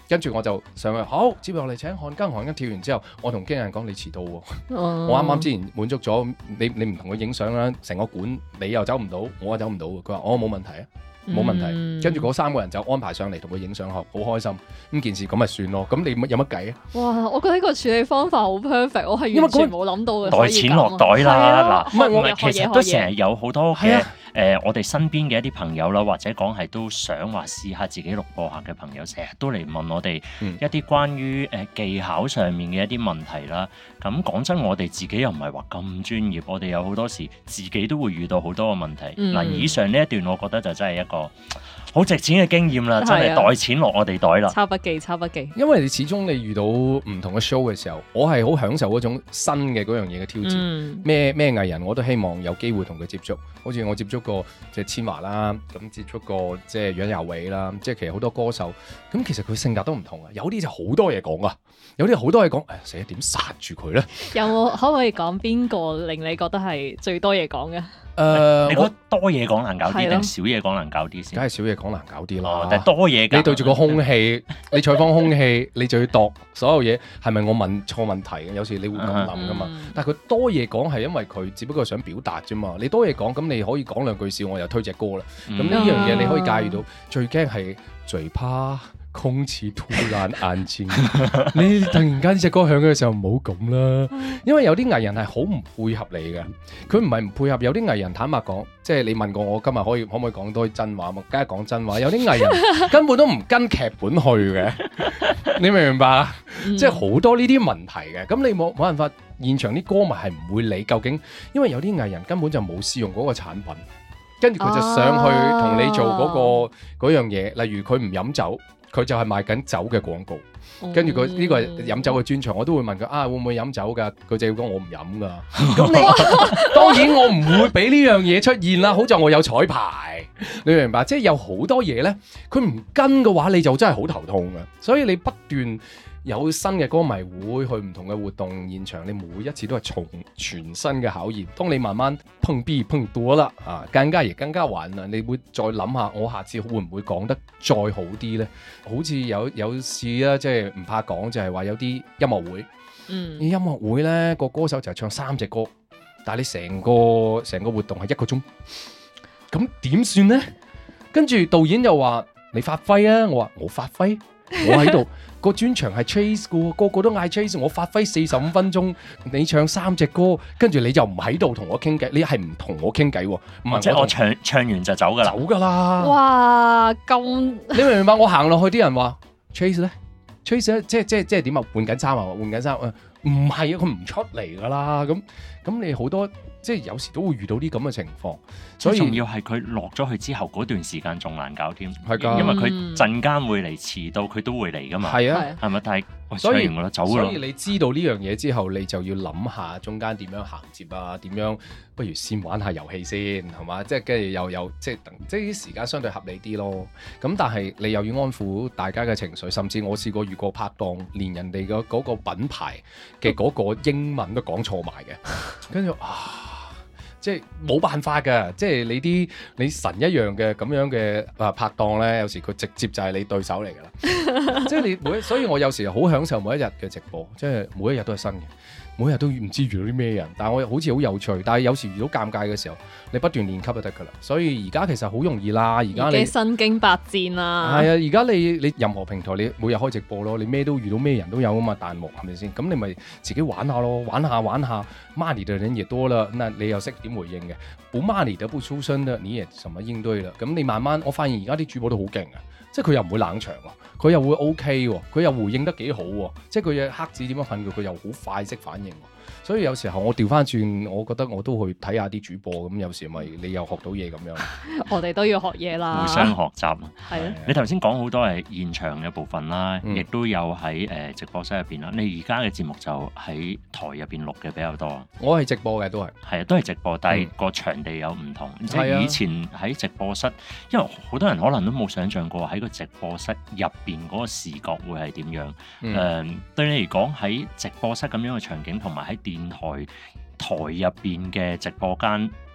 跟住我就上去，好，接落嚟請看更看更跳完之後，我同經理人講你遲到喎， 哦我啱啱之前滿足咗你，你唔同佢影相啦，成個館你又走唔到，我又走唔到，佢話我冇問題啊。冇問題， 嗯跟住嗰三個人就安排上嚟同佢影相學，好開心。咁件事咁咪算咯。咁你有乜計啊？ 哇！我覺得呢個處理方法好 perfect，我係因為完全冇諗到嘅。 袋錢落袋啦，嗱， 唔係我唔係其實都成日有好多嘅係啊誒，我哋身邊嘅一啲朋友啦，或者講係都想話試下自己錄播客嘅朋友，成日都嚟問我哋一啲關於誒技巧上面嘅一啲問題啦。咁講真，我哋自己又唔係話咁專業，我哋有好多時自己都會遇到好多嘅問題。嗱、 嗯， 以上呢一段我覺得就真係一個好值錢嘅經驗啦，真係袋錢落我哋袋啦。 抄筆記，抄筆記。 因為你始終你遇到唔同嘅 show 嘅時候，我係好享受嗰種新嘅嗰樣嘢嘅挑戰。咩咩藝人我都希望有機會同佢接觸，好似我接觸過即係千嬅啦，咁接觸過即係楊佑偉啦，即係其實好多歌手，咁其實佢性格都唔同啊。有啲就好多嘢講啊，有啲好多嘢講，誒死啦點殺住佢咧？ 有冇可唔可以講邊個令你覺得係最多嘢講嘅？ 誒、呃， 你覺得多嘢講難搞啲係咯定少嘢講難搞啲先？ 梗係少嘢講難搞啲哦啦。 但係多嘢你對住個空氣，你採訪空氣，你就要度所有嘢係咪我問錯問題嘅？有時你會咁諗噶嘛。 嗯但係佢多嘢講係因為佢只不過想表達啫嘛。你多嘢講，咁你可以講兩句笑，我又推隻歌啦。咁呢樣嘢你可以駕馭到。最驚係最怕空氣突然安靜。你突然間呢隻歌響嘅時候唔好咁啦，因為有啲藝人係好唔配合你嘅。佢唔係唔配合，有啲藝人坦白講，即係你問過我今日可以可唔可以講多啲真話嘛？梗係講真話。有啲藝人根本都唔跟劇本去嘅，你明唔明白啊？ 嗯即係好多呢啲問題嘅。咁你冇冇辦法，現場啲歌迷係唔會理究竟，因為有啲藝人根本就冇試用嗰個產品。跟住佢就上去同你做嗰、嗰個嗰樣嘢，例如佢唔飲酒，佢就係賣緊酒嘅廣告。跟住佢呢個係飲酒嘅專場，我都會問佢啊，會唔會飲酒㗎？佢就要講我唔飲㗎。咁你當然我唔會俾呢樣嘢出現啦。好在我有彩排，你明白？即係有好多嘢咧，佢唔跟嘅話，你就真係好頭痛嘅。所以你不斷有新嘅歌迷會去唔同嘅活動現場，你每一次都係從全新嘅考驗。當你慢慢碰壁碰多啦，啊，更加亦更加玩啦，你會再諗下，我下次會唔會講得再好啲呢？好似有有次啦，即係唔怕講，就係話有啲音樂會， 嗯， 音樂會呢個歌手就係唱三隻歌，但係你成個成個活動係一個鐘，咁點算呢？跟住導演又話你發揮啊，我話我發揮，我喺度。個專場係 chase 嘅，個個都嗌 chase，我發揮四十五分鐘，你唱三隻歌，跟住你就唔喺度同我傾偈，你係唔同我傾偈喎，唔係即係我唱唱完就走㗎啦， 走㗎啦。 哇，咁你明唔明白？我行落去啲人話 chase 咧 ，chase 咧，即係即係即係點啊？換緊衫啊，換緊衫啊，唔係啊，佢唔出嚟㗎啦。咁咁你好多即係有時都會遇到啲咁嘅情況，所以仲要係佢落咗去之後嗰段時間仲難搞添， 係㗎因為佢陣間會嚟，遲到佢都會嚟㗎嘛， 係啊。 係咪？但係喂所以唱完我走㗎啦。 所以你知道呢樣嘢之後，你就要諗下中間點樣銜接啊，點樣不如先玩下遊戲先，係嘛？即係跟住又有即係等，即係啲時間相對合理啲咯。咁但係你又要安撫大家嘅情緒，甚至我試過遇過拍檔，連人哋嘅嗰個品牌嘅嗰個英文都講錯埋嘅，跟住啊〜即係冇辦法㗎，即係你啲你神一樣嘅咁樣嘅啊拍檔咧，有時佢直接就係你對手嚟㗎啦。即係你每，所以我有時好享受每一日嘅直播，即係每一日都係新嘅，每日都唔知遇到啲咩人，但係我好似好有趣。但係有時遇到尷尬嘅時候，你不斷練級就得㗎啦。所以而家其實好容易啦，而家你身經百戰啦。 係啊，而家你你任何平台你每日開直播咯，你咩都遇到咩人都有啊嘛，彈幕係咪先？咁你咪自己玩下咯，玩下玩下。money 嘅人也多啦，那你又識點回應嘅？不 money 得不出聲的，你也什麼應對啦？咁你慢慢，我發現而家啲主播都好勁啊，即係佢又唔會冷場喎，佢又會 OK 喎，佢又回應得幾好喎，即係佢嘅黑子點樣噴佢，佢又好快識反應。所以有時候我調翻轉，我覺得我都去睇下啲主播，咁有時咪你又學到嘢咁樣。 我哋都要學嘢啦， 互相學習。 係啊， 你頭先講好多係現場嘅部分啦， 嗯、 亦都有喺誒直播室入邊啦。你而家嘅節目就喺台入邊錄嘅比較多。 我係直播嘅都係， 係啊，都係直播，但係個場地有唔同。嗯、即係以前喺直播室，因為好多人可能都冇想像過喺個直播室入邊嗰個視覺會係點樣。誒、 嗯呃，對你嚟講喺直播室咁樣嘅場景，同埋喺電台台入邊嘅直播間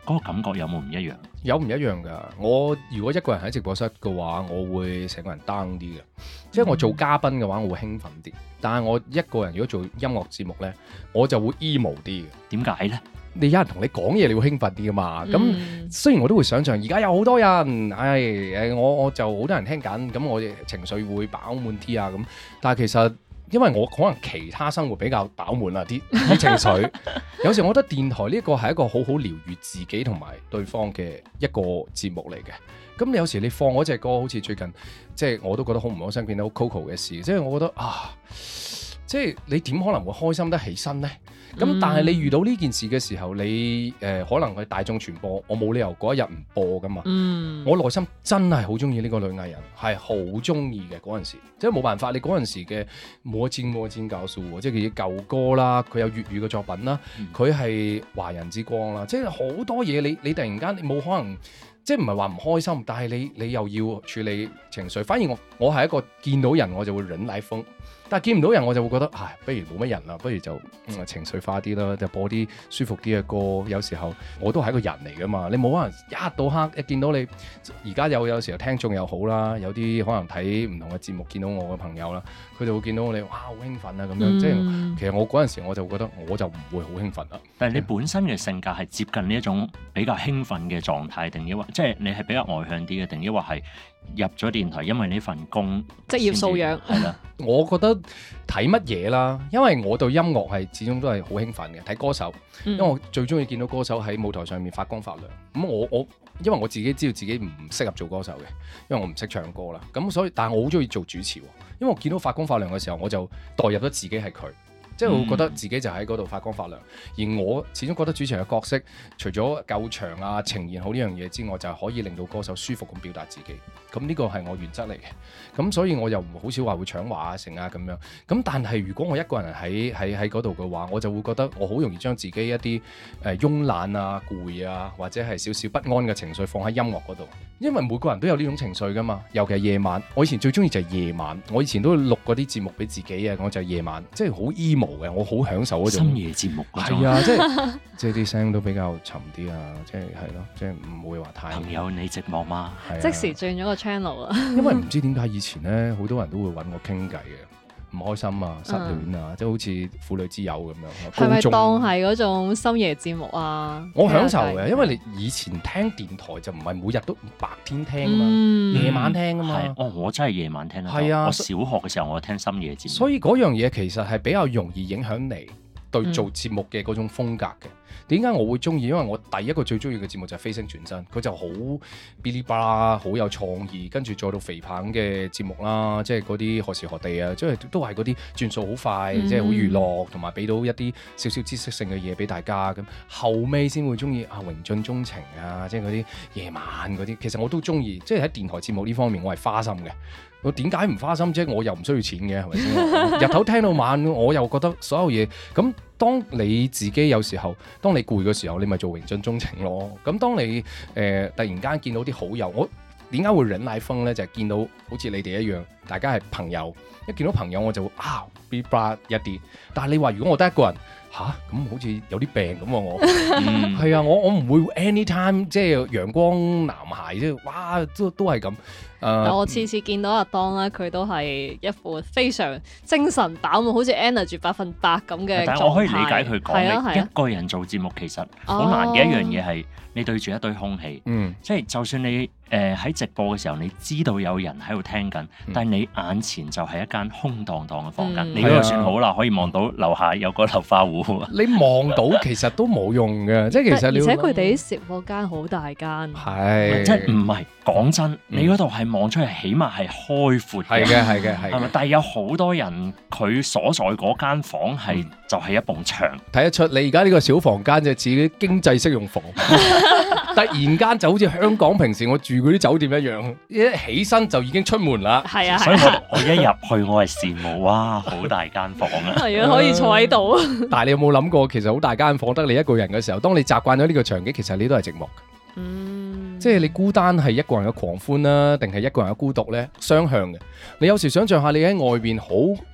嗰個感覺有冇唔一樣？ 有唔一樣㗎。我如果一個人喺直播室嘅話，我會成個人 down 啲嘅。即係我做嘉賓嘅話，我會興奮啲。但係我一個人如果做音樂節目呢，我就會 emo 啲嘅。 點解呢？ 你有人同你講嘢，你會興奮啲㗎嘛？咁、 嗯、 雖然我都會想像，而家有好多人，唉誒，我我就好多人聽緊，咁我嘅情緒會飽滿啲啊咁。但係其實因為我可能其他生活比較飽滿啊啲啲情緒，有時我覺得電台呢個係一個好好療愈自己同埋對方嘅一個節目嚟嘅。咁你有時你放嗰隻歌，好似最近即係我都覺得好唔開心，見到 Coco 嘅事，即係我覺得啊，即係你點可能會開心得起身呢？咁、嗯、但係你遇到呢件事嘅時候，你誒、呃、可能係大眾傳播，我冇理由嗰一日唔播噶嘛。 嗯、 我內心真係好中意呢個女藝人，係好中意嘅嗰陣時，即係冇辦法。你嗰陣時嘅冇尖冇尖教數喎，即係佢啲舊歌啦，佢有粵語嘅作品啦，佢係、嗯、華人之光啦，即係好多嘢你你突然間你冇可能，即係唔係話唔開心，但係你你又要處理情緒。反而我我係一個見到人我就會忍奶風。但係見唔到人我就會覺得，唉，不如冇乜人啦，不如就、嗯、情緒化啲啦，就播啲舒服啲嘅歌。有時候我都係一個人嚟噶嘛，你冇可能一到黑一見到你。而家有有時候聽眾又好啦，有啲可能睇唔同嘅節目見到我嘅朋友啦，佢就會見到我哋，哇，好興奮啊咁樣。嗯、即係其實我嗰陣時我就覺得我就唔會好興奮啦。 但係你本身嘅性格係接近呢一種比較興奮嘅狀態，定抑或即係你係比較外向啲嘅，定抑或係入咗電台因為呢份工職業素養係啦。 我覺得睇乜嘢啦，因為我對音樂係始終都係好興奮嘅，睇歌手，因為我最中意見到歌手喺舞台上面發光發亮。咁我我因為我自己知道自己唔適合做歌手嘅，因為我唔識唱歌啦。咁所以，但係我好中意做主持，因為我見到發光發亮嘅時候，我就代入咗自己係佢。即係我覺得自己就喺嗰度發光發亮，而我始終覺得主持人嘅角色，除咗夠長啊、呈現好呢樣嘢之外，就係可以令到歌手舒服咁表達自己。咁呢個係我原則嚟嘅。咁所以我又好少話會搶話啊、成啊咁樣。咁但係如果我一個人喺喺喺嗰度嘅話，我就會覺得我好容易將自己一啲誒慵懶啊、攰啊，或者係少少不安嘅情緒放喺音樂嗰度。因為每個人都有呢種情緒㗎嘛，尤其係夜晚。我以前最中意就係夜晚，我以前都錄嗰啲節目俾自己啊，我就係夜晚，即係好 emo。我好享受嗰種深夜節目， 係啊，即係即係啲聲都比較沉啲啊，即係係咯，即係唔會話太。 朋友你寂寞嗎？ 係啊， 即時轉咗個 channel 啊！ 因為唔知點解以前咧，好多人都會揾我傾偈嘅，唔開心啊、失戀啊，即係好似婦女之友咁樣。 係咪當係嗰種深夜節目啊？ 我享受嘅，因為你以前聽電台就唔係每日都白天聽啊嘛，夜晚聽啊嘛。 哦，我真係夜晚聽啊。 係啊， 我小學嘅時候我聽深夜節目。 所以嗰樣嘢其實係比較容易影響你對做節目嘅嗰種風格嘅。點解我會中意？因為我第一個最中意嘅節目就係《飛升轉身》，佢就好嗶哩吧啦，好有創意，跟住再到肥棒嘅節目啦，即係嗰啲何時何地啊，即係都係嗰啲轉數好快，嗯、即係好娛樂，同埋俾到一啲少少知識性嘅嘢俾大家。咁後尾先會中意啊榮盡鍾情啊，即係嗰啲夜晚嗰啲，其實我都中意。即係喺電台節目呢方面，我係花心嘅。我點解唔花心啫？我又唔需要錢嘅，係咪先？日頭聽到晚，我又覺得所有嘢咁。當你自己有時候，當你攰嘅時候，你咪做榮盡鍾情咯。咁當你誒、呃、突然間見到啲好友，我點解會忍奶風咧？就係、是、見到好似你哋一樣，大家係朋友，一見到朋友我就會啊 be bad 一啲。但係你話如果我得一個人吓，咁好似有啲病咁喎，我係啊，我我唔會 anytime 即係陽光男孩即係哇，都都係咁。 但我次次見到阿當咧，佢都係一副非常精神飽滿，好似 energy 百分百咁嘅狀態。 但係我可以理解佢講， 啊啊、 一個人做節目其實好難嘅一樣嘢係你對住一堆空氣， 嗯、 即係就算你誒喺、呃、直播嘅時候，你知道有人喺度聽緊，嗯、但係你眼前就係一間空蕩蕩嘅房間，嗯、你嗰度算好啦，可以望到樓下有個流花湖。 你望到其實都冇用嘅，即係其實你。 而且佢哋啲直播間好大間。 係。 即係唔係講真，嗯、你嗰度係望出去，起碼係開闊嘅。係嘅，係嘅，係。係咪？但係有好多人佢所在嗰間房係、嗯、就係一埲牆， 睇得出你而家呢個小房間就似啲經濟適用房。突然間就好似香港平時我住嗰啲酒店一樣，一起身就已經出門啦。 係啊， 所以我我一入去我係羨慕，哇，好大間房啊！ 係啊，可以坐喺度。 但係你有冇諗過，其實好大間房得你一個人嘅時候，當你習慣咗呢個場景，其實你都係寂寞嘅。 嗯， 即係你孤單係一個人嘅狂歡啦，定係一個人嘅孤獨呢？雙向嘅。你有時想象下，你喺外邊好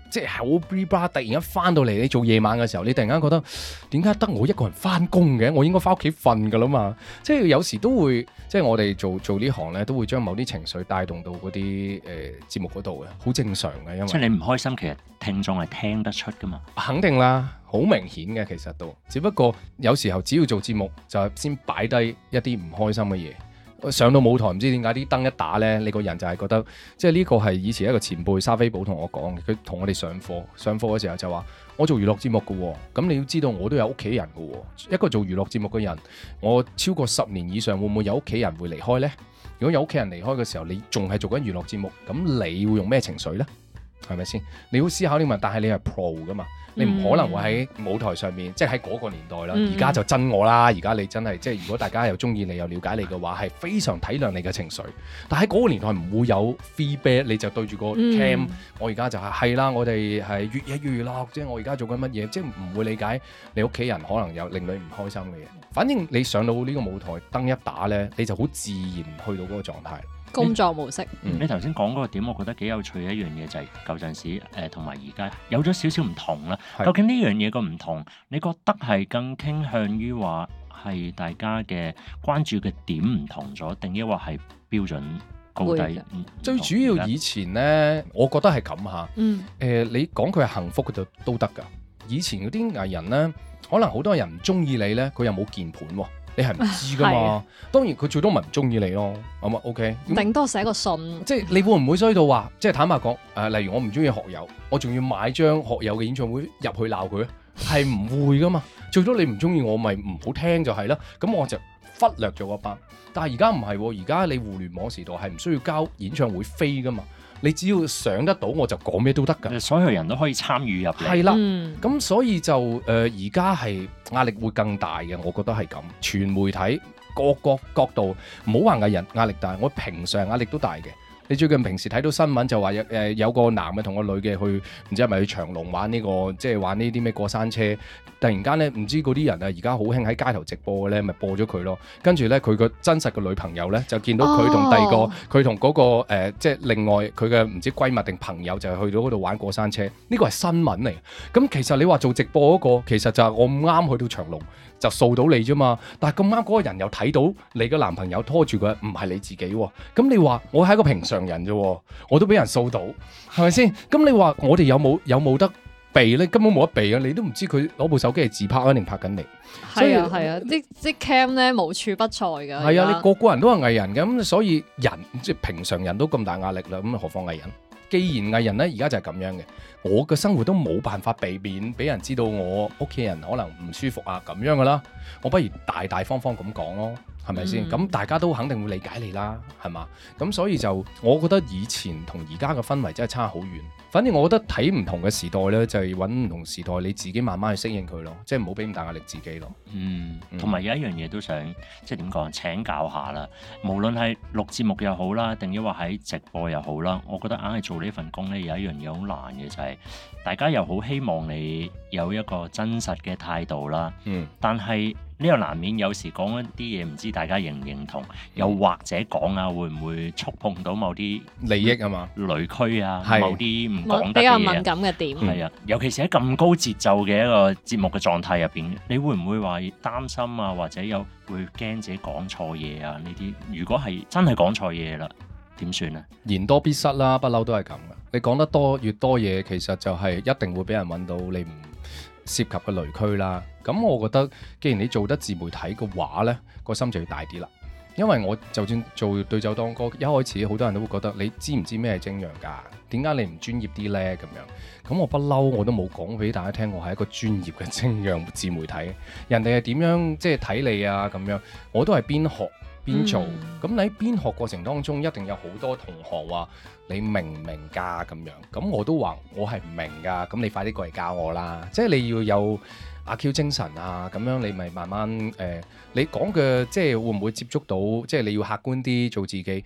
即係好 bra bra，突然間翻到嚟你做夜晚嘅時候，你突然間覺得點解得我一個人翻工嘅？我應該翻屋企瞓㗎啦嘛。即係有時都會，即係我哋做做呢行咧，都會將某啲情緒帶動到嗰啲誒節目嗰度嘅，好正常嘅。因為即係你唔開心，其實聽眾係聽得出㗎嘛。 肯定啦，好明顯嘅其實都，只不過有時候只要做節目就係先擺低一啲唔開心嘅嘢。上到舞台唔知點解啲燈一打呢，你個人就係覺得，即係呢個係以前一個前輩沙菲寶同我講嘅，佢同我哋上課上課嘅時候就話：我做娛樂節目嘅喎，咁你要知道我都有屋企人嘅喎，一個做娛樂節目嘅人，我超過十年以上會唔會有屋企人會離開呢？如果有屋企人離開嘅時候，你仲係做緊娛樂節目，咁你會用咩情緒呢？係咪先？你要思考呢個問題，但係你係 pro 噶嘛，你唔可能會喺舞台上面，嗯、即係喺嗰個年代啦。而家、嗯、就真我啦，而家你真係即係，如果大家又中意你又了解你嘅話，係非常體諒你嘅情緒。但喺嗰個年代唔會有 feedback，你就對住個 cam，、嗯、我而家就係、是、係啦，我哋係越嘢越娛樂，即係我而家做緊乜嘢，即係唔會理解你屋企人可能有令你唔開心嘅嘢。反正你上到呢個舞台燈一打呢，你就好自然去到嗰個狀態。 工作模式， 嗯、你頭先講嗰個點，我覺得幾有趣嘅一樣嘢就係舊陣時誒同埋而家有咗少少唔同啦。是究竟呢樣嘢個唔同，你覺得係更傾向於話係大家嘅關注嘅點唔同咗，定抑或係標準高低？ 的最主要以前呢，我覺得係咁嚇。嗯。誒、呃，你講佢係幸福嘅就都得㗎。以前嗰啲藝人呢，可能好多人唔中意你呢，佢又冇鍵盤喎。你係唔知噶嘛？當然佢最多咪唔中意你咯，咁啊 OK。 頂多寫個信， 即係你會唔會衰到話，即係坦白講，誒、呃，例如我唔中意學友，我仲要買張學友嘅演唱會入去鬧佢咧，係唔會噶嘛？最多你唔中意我，咪唔好聽就係啦。咁我就忽略咗嗰班。但係而家唔係，而家你互聯網時代係唔需要交演唱會飛噶嘛？你只要上得到，我就講咩都得㗎。 所有人都可以參與入嚟。 係啦，咁、嗯、所以就誒而家係壓力會更大嘅，我覺得係咁。全媒體各個角度，唔好話藝人壓力大，我平常壓力都大嘅。你最近平時睇到新聞就話有誒有個男嘅同個女嘅去，唔知係咪去長隆玩呢、呢個，即係玩呢啲咩過山車。突然間咧，唔知嗰啲人啊，而家好興喺街頭直播嘅咧，咪播咗佢咯。跟住咧，佢個真實嘅女朋友咧，就見到佢同第二個，佢同嗰個、呃、即係另外佢嘅唔知閨蜜定朋友，就係去到嗰度玩過山車。呢個係新聞嚟。咁其實你話做直播嗰、嗰個，其實就係我唔啱去到長隆就掃到你啫嘛。但係咁啱嗰個人又睇到你嘅男朋友拖住佢，唔係你自己喎。咁你話我係一個平常人啫，我都俾人掃到，係咪先？咁你話我哋有冇有冇得避咧？根本冇得避啊！你都唔知佢攞部手機係自拍啊定拍緊你。 係啊係啊，啲啲 cam 咧無處不在㗎。係啊，你個個人都係藝人嘅，咁所以人即係平常人都咁大壓力啦，咁何況藝人？既然藝人咧而家就係咁樣嘅，我嘅生活都冇辦法避免俾人知道我屋企人可能唔舒服啊咁樣噶啦，我不如大大方方咁講咯。係咪先？咁、嗯、大家都肯定會理解你啦，係嘛？咁所以就我覺得以前同而家嘅氛圍真係差好遠。反正我覺得睇唔同嘅時代呢，就係揾唔同時代，你自己慢慢去適應佢咯，即係唔好俾咁大壓力自己咯。 嗯，同埋、嗯、有一樣嘢都想即係點講？請教下啦。無論係錄節目又好啦，定抑或喺直播又好啦，我覺得硬係做呢份工呢，有一樣嘢好難嘅就係、是、大家又好希望你有一個真實嘅態度啦。嗯，但係。呢個難免有時講一啲嘢，唔知大家認唔認同，又或者講啊，會唔會觸碰到某啲利益啊嘛、 雷區啊， 是某啲唔講得嘅嘢， 比較敏感嘅點。 係啊，尤其是喺咁高節奏嘅一個節目嘅狀態入邊，你會唔會話擔心啊，或者有會驚自己講錯嘢啊？呢啲如果係真係講錯嘢啦，點算啊？ 言多必失啦，不嬲都係咁噶。你講得多越多嘢，其實就係一定會俾人揾到你唔涉及嘅雷區啦，咁我覺得既然你做得自媒體嘅話呢，個心就要大啲啦。因為我就算做對酒當歌，一開始好多人都會覺得你知唔知咩係精釀㗎？點解你唔專業啲呢？咁樣咁我不嬲我都冇講俾大家聽，我係一個專業嘅精釀自媒體。人哋係點樣即係睇你啊？咁樣我都係邊學邊做。咁、嗯、你喺邊學過程當中，一定有好多同學話你明唔明㗎？咁樣咁我都話我係唔明㗎。咁你快啲過嚟教我啦！即係你要有阿 Q 精神啊！咁樣你咪慢慢誒、呃，你講嘅即係會唔會接觸到？即係你要客觀啲做自己。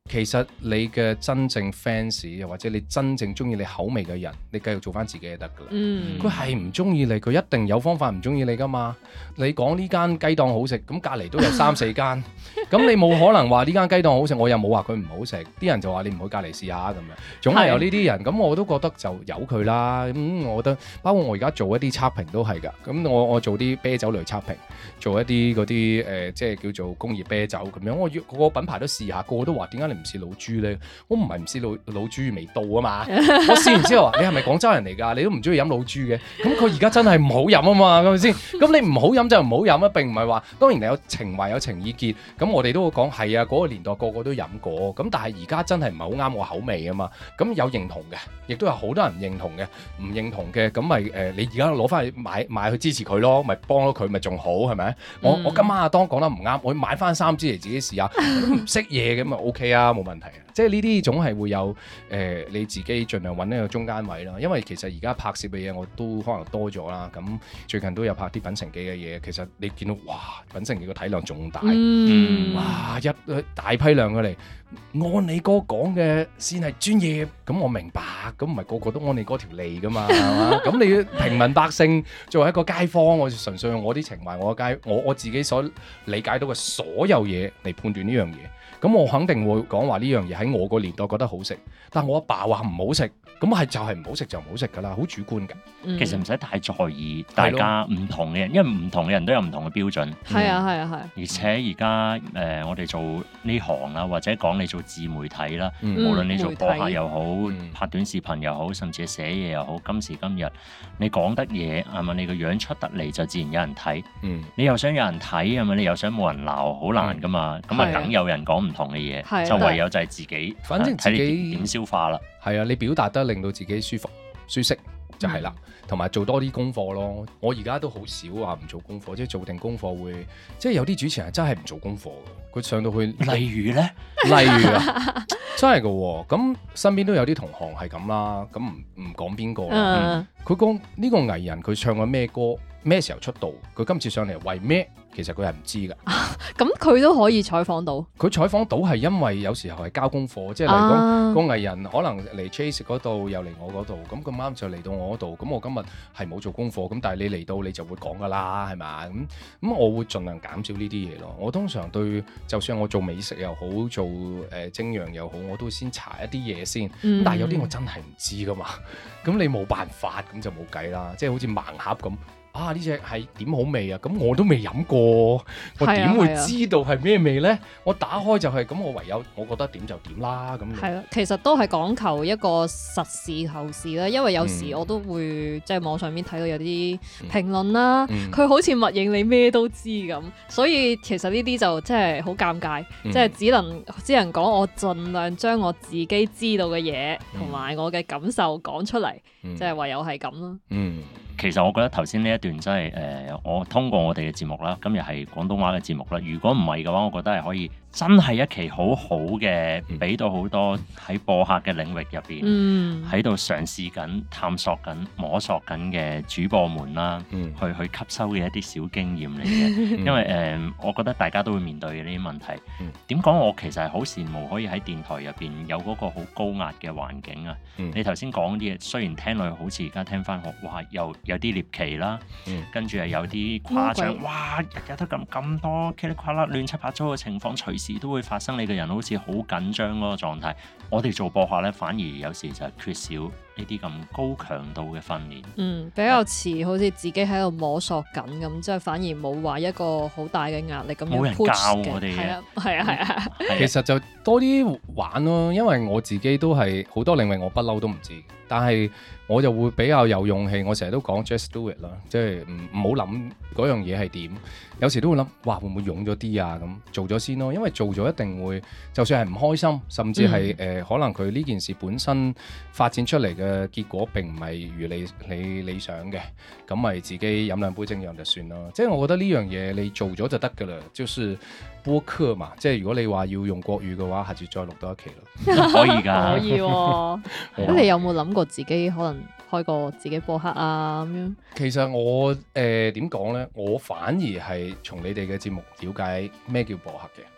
其實你嘅真正 fans 又或者你真正中意你口味嘅人，你繼續做翻自己就得噶啦。佢係唔中意你，佢一定有方法唔中意你噶嘛。你講呢間雞檔好食，咁隔離都有三四間，咁你冇可能話呢間雞檔好食，我又冇話佢唔好食，啲人就話你唔去隔離試下咁樣，總係有呢啲人。咁我都覺得就由佢啦。咁我覺得包括我而家做一啲測評都係㗎。咁我我做啲啤酒類測評，做一啲嗰啲誒即係叫做工業啤酒咁樣，我要個個品牌都試下，個個都話點解你唔試老豬咧？我唔係唔試老老豬味道啊嘛，我試完之後話你係咪廣州人嚟㗎？你都唔中意飲老豬嘅，咁佢而家真係唔好飲啊嘛，係咪先？咁你唔好飲就唔好飲啊，並唔係話當然你有情懷有情意結，咁我哋都會講係啊，嗰個年代個個都飲過，咁但係而家真係唔係好啱我口味啊嘛，咁有認同嘅，亦都有好多人認同嘅，唔認同嘅咁咪誒你而家攞翻去買買去支持佢咯，咪幫咗佢咪仲好係咪？我、嗯、我今晚阿當講得唔啱，我買翻三支嚟自己試下，都唔識嘢咁咪 OK 啊，冇問題啊，即係呢啲總係會有誒、呃、你自己盡量揾一個中間位啦，因為其實而家拍攝嘅嘢我都可能多咗啦，咁最近都有拍啲品城記嘅嘢，其實你見到哇品城記個體量仲大，嗯、哇一大批量過嚟，按你哥講嘅先係專業，咁我明白，咁唔係個個都按你哥條脷噶嘛，係嘛？咁你平民百姓作為一個街坊，我純粹用我啲情懷，我街我我自己所理解到嘅所有嘢嚟判斷呢樣嘢。咁我肯定會講話呢樣嘢喺我個年代覺得好食，但係我阿爸話唔好食，咁係就係唔好食就唔好食㗎啦，好主觀㗎。 嗯、 其實唔使太在意大家唔同嘅人，因為唔同嘅人都有唔同嘅標準。 係啊係啊係。而且而家誒我哋做呢行啊，或者講你做自媒體啦，嗯、無論你做播客又好，嗯、拍短視頻又好，甚至係寫嘢又好，今時今日你講得嘢係咪？你個樣出得嚟就自然有人睇。嗯、你又想有人睇係咪？你又想冇人鬧，好難㗎嘛。咁啊梗有人講唔同嘅嘢，啊、就唯有就係自己， 反正自己點消化啦。 係啊，你表達得令到自己舒服舒適就係啦，同埋、嗯、做多啲功課咯。我而家都好少話唔做功課，即係做定功課會，即係有啲主持人真係唔做功課嘅，佢上到去， 例如咧， 例如啊，真係嘅喎。咁身邊都有啲同行係咁啦，咁唔唔講邊個啦。佢講呢個藝人佢唱過咩歌，咩時候出道，佢今次上嚟為咩？其實佢係唔知㗎， 咁佢都可以採訪到。佢採訪到係因為有時候係交功課，即係例如講、啊、個藝人可能嚟 Chase 嗰度，又嚟我嗰度，咁咁啱就嚟到我嗰度，咁我今日係冇做功課，咁但係你嚟到你就會講㗎啦，係咪？咁咁我會盡量減少呢啲嘢咯。我通常對，就算我做美食又好，做誒、呃、精釀又好，我都會先查一啲嘢先。嗯、但係有啲我真係唔知㗎嘛，咁你冇辦法，咁就冇計啦。即係好似盲盒咁。啊！呢隻係點好味啊？咁我都未飲過，我點會知道係咩味呢？我打開就係、是、咁，我唯有我覺得點就點啦。咁係咯，其實都係講求一個實事求是啦。因為有時我都會、嗯、即係網上面睇到有啲評論啦，佢、嗯、好似默認你咩都知咁，所以其實呢啲就真係好尷尬，嗯、即係只能只能講我盡量將我自己知道嘅嘢同埋我嘅感受講出嚟，嗯、即係唯有係咁咯。嗯。 其實我覺得頭先呢一段真係誒、呃，我通過我哋嘅節目啦，今日係廣東話嘅節目啦。如果唔係嘅話，我覺得係可以真係一期好好嘅，俾到好多喺播客嘅領域入邊，喺度、嗯、嘗試緊、探索緊、摸索緊嘅主播們啦，嗯、去去吸收嘅一啲小經驗嚟嘅。因為誒、呃，我覺得大家都會面對嘅呢啲問題。點講、嗯？我其實係好羨慕可以喺電台入邊有嗰個好高壓嘅環境啊。嗯、你頭先講啲嘢，雖然聽落去好似而家聽翻學，哇，又〜有啲獵奇啦，嗯、跟住係有啲誇張，鬼哇！日日都咁咁多噼里啪啦亂七八糟嘅情況，隨時都會發生。你個人好似好緊張嗰個狀態。我哋做播客咧，反而有時就係缺少呢啲咁高強度嘅訓練。嗯， 比較似好似自己喺度摸索緊咁，即係反而冇話一個好大嘅壓力咁樣 push 嘅。冇人教我哋嘅，係啊，係啊，係啊。 其實就多啲玩咯，因為我自己都係好多領域我不嬲都唔知，但係我就會比較有勇氣。我成日都講 just do it 啦，即係唔唔好諗嗰樣嘢係點。有時都會諗，哇，會唔會勇咗啲啊？咁做咗先咯，因為做咗一定會，就算係唔開心，甚至係誒、嗯呃，可能佢呢件事本身發展出嚟嘅結果並唔係如你你理想嘅，咁咪自己飲兩杯精釀就算咯。即係我覺得呢樣嘢你做咗就得㗎啦，就是播客嘛。即係如果你話要用國語嘅話，下次再錄多一期咯。 可以㗎， 可以喎、哦。咁你有冇諗過自己可能開個自己播客啊咁樣？ 其實我誒點講呢？我反而係從你哋嘅節目了解咩叫播客嘅，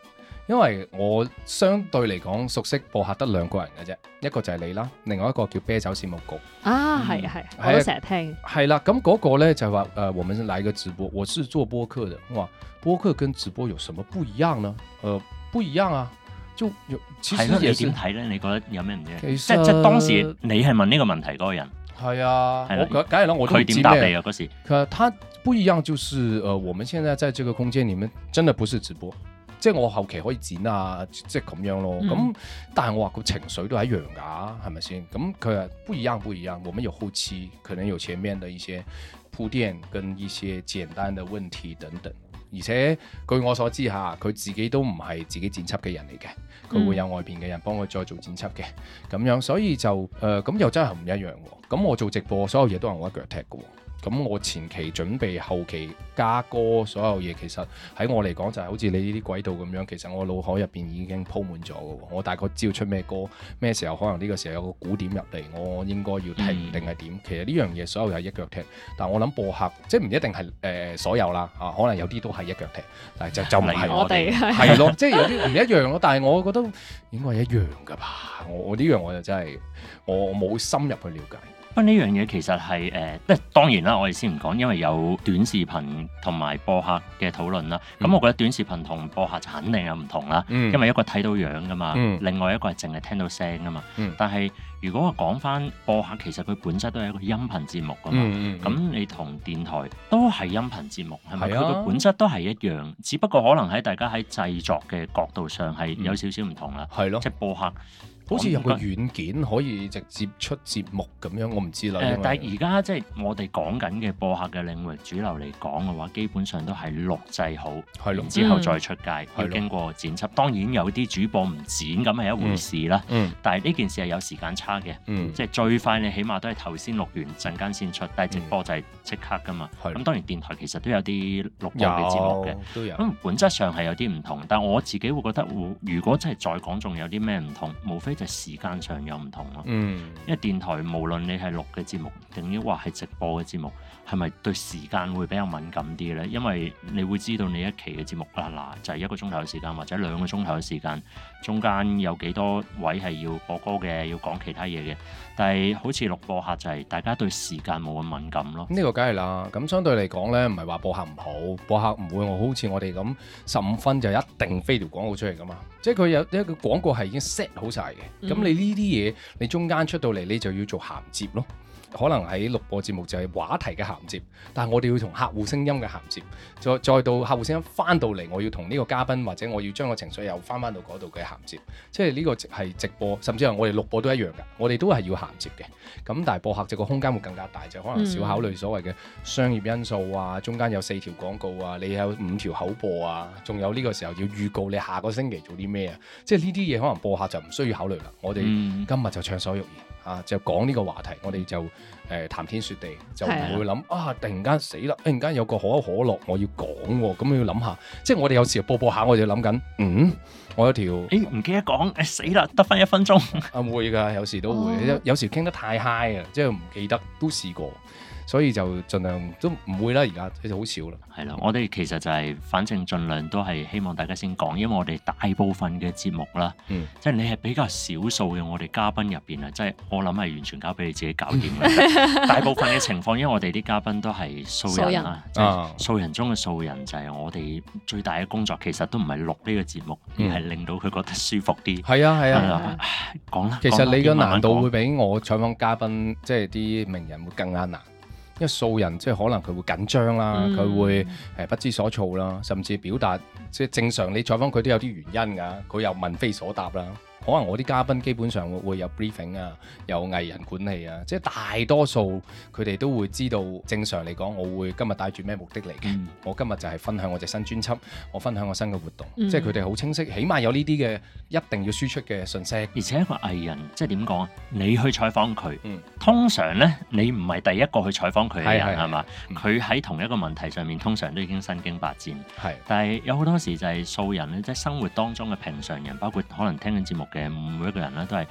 因為我相對嚟講熟悉播客得兩個人嘅啫，一個就係你啦，另外一個叫啤酒事務局。 啊，係係，我都成日聽。 係啦，咁嗰個咧就話誒、呃，我們來個直播，我是做播客的，哇，播客跟直播有什麼不一樣呢？誒、呃，不一樣啊，就有其實你點睇咧？你覺得有咩唔一樣？即即當時你係問呢個問題嗰個人。 係啊，我梗係啦，我都佢點答你啊嗰時？ 佢他不一樣，就是誒、呃，我們現在在這個空間裡面，真的不是直播。即係我後期可以剪啊，即係咁樣咯。咁、嗯、但係我話個情緒都係一樣㗎，係咪先？咁佢話不一樣，不一樣。我們有後期，可能有前面的一些鋪墊跟一些簡單的問題等等。而且據我所知嚇，佢自己都唔係自己剪輯嘅人嚟嘅，佢會有外邊嘅人幫佢再做剪輯嘅。咁樣所以就誒咁、呃、又真係唔一樣喎。咁我做直播，所有嘢都係我一腳踢嘅喎。咁我前期準備，後期加歌，所有嘢其實喺我嚟講就係好似你呢啲軌道咁樣，其實我腦海入邊已經鋪滿咗嘅。我大概知道出咩歌，咩時候可能呢個時候有個鼓點入嚟，我應該要停定係點。其實呢樣嘢所有係一腳踢，但係我諗播客即係唔一定係誒、呃、所有啦，啊可能有啲都係一腳踢，但係就就唔係我哋係咯，即係有啲唔一樣咯。但係我覺得應該係一樣㗎吧。我我呢樣我就真係我冇深入去了解。 不過呢樣嘢其實係誒，即、呃、係當然啦，我哋先唔講，因為有短視頻同埋播客嘅討論啦。咁、嗯、我覺得短視頻同播客就肯定有唔同啦，嗯、因為一個睇到樣噶嘛，嗯、另外一個係淨係聽到聲噶嘛。嗯、但係如果我講翻播客，其實佢本質都係一個音頻節目噶嘛。咁、嗯嗯、你同電台都係音頻節目，係咪？佢個、啊、本質都係一樣，只不過可能喺大家喺製作嘅角度上係有少少唔同啦。係咯、嗯，即係播客。好似有個軟件可以直接出節目咁樣，我唔知啦。誒、呃，但係而家即係我哋講緊嘅播客嘅領域主流嚟講嘅話，基本上都係錄製好，係咯，之後再出街，嗯、要經過剪輯。當然有啲主播唔剪咁係一回事啦。嗯嗯、但係呢件事係有時間差嘅，嗯、即係最快你起碼都係頭先錄完陣間先出，但係直播就係即刻噶嘛。咁、嗯、當然電台其實都有啲錄播嘅節目嘅，都有。咁本質上係有啲唔同，但係我自己會覺得，如果真係再講仲有啲咩唔同，無非就時間上有唔同咯，嗯、因為電台無論你係錄嘅節目，定抑或係直播嘅節目，係咪對時間會比較敏感啲咧？因為你會知道你一期嘅節目啦，嗱就係、是、一個鐘頭嘅時間或者兩個鐘頭嘅時間，中間有幾多位係要播歌嘅，要講其他嘢嘅。但係好似錄播客就係大家對時間冇咁敏感咯。呢個梗係啦，咁相對嚟講咧，唔係話播客唔好，播客唔會我好似我哋咁十五分就一定飛條廣告出嚟噶嘛。即係佢有一個廣告係已經 set 好晒嘅，咁、嗯、你呢啲嘢你中間出到嚟，你就要做銜接咯。可能喺錄播節目就係話題嘅銜接，但係我哋要同客戶聲音嘅銜接，再再到客戶聲音翻到嚟，我要同呢個嘉賓或者我要將個情緒又翻翻到嗰度嘅銜接，即係呢個係直播，甚至係我哋錄播都一樣㗎，我哋都係要銜接嘅。咁但係播客就個空間會更加大，就可能少考慮所謂嘅商業因素啊，中間有四條廣告啊，你有五條口播啊，仲有呢個時候要預告你下個星期做啲咩啊，即係呢啲嘢可能播客就唔需要考慮啦。我哋今日就暢所欲言。啊！就講呢個話題，我哋就誒、呃、談天說地，就唔會諗啊！突然間死啦！突然間有個可口可樂，我要講喎，咁要諗下。即係我哋有時播播下，我就諗緊，嗯，我有條誒唔記得講，誒死啦，得返一分鐘。啊會㗎，有時都會，哦、有有時傾得太 high 啊，即係唔記得，都試過。所以就盡量都唔會啦，而家其實好少啦。係啦，我哋其實就係、是、反正盡量都係希望大家先講，因為我哋大部分嘅節目啦，嗯、即係你係比較少數嘅我哋嘉賓入邊啊，即係我諗係完全交俾你自己搞掂嘅。大部分嘅情況，因為我哋啲嘉賓都係素人啊，即係素人中嘅素人，就係我哋最大嘅工作其實都唔係錄呢個節目，嗯、而係令到佢覺得舒服啲。係啊係啊，講啦。其實你嘅難度會比我採訪嘉賓，即係啲名人會更加難。因為素人即係可能佢會緊張啦，佢、嗯、會誒不知所措啦，甚至表達即係正常你採訪佢都有啲原因㗎，佢又問非所答啦。可能我啲嘉賓基本上會有 briefing 啊，有藝人管理啊，即係大多數佢哋都會知道。正常嚟講，我會今日帶住咩目的嚟嘅？嗯、我今日就係分享我隻新專輯，我分享我新嘅活動，嗯、即係佢哋好清晰，起碼有呢啲嘅一定要輸出嘅信息。而且一個藝人即係點講啊？你去採訪佢，嗯、通常咧你唔係第一個去採訪佢嘅人係嘛？佢喺同一個問題上面，通常都已經身經百戰。係，但係有好多時就係素人咧，即係生活當中嘅平常人，包括可能聽緊節目嘅每一個人咧，都係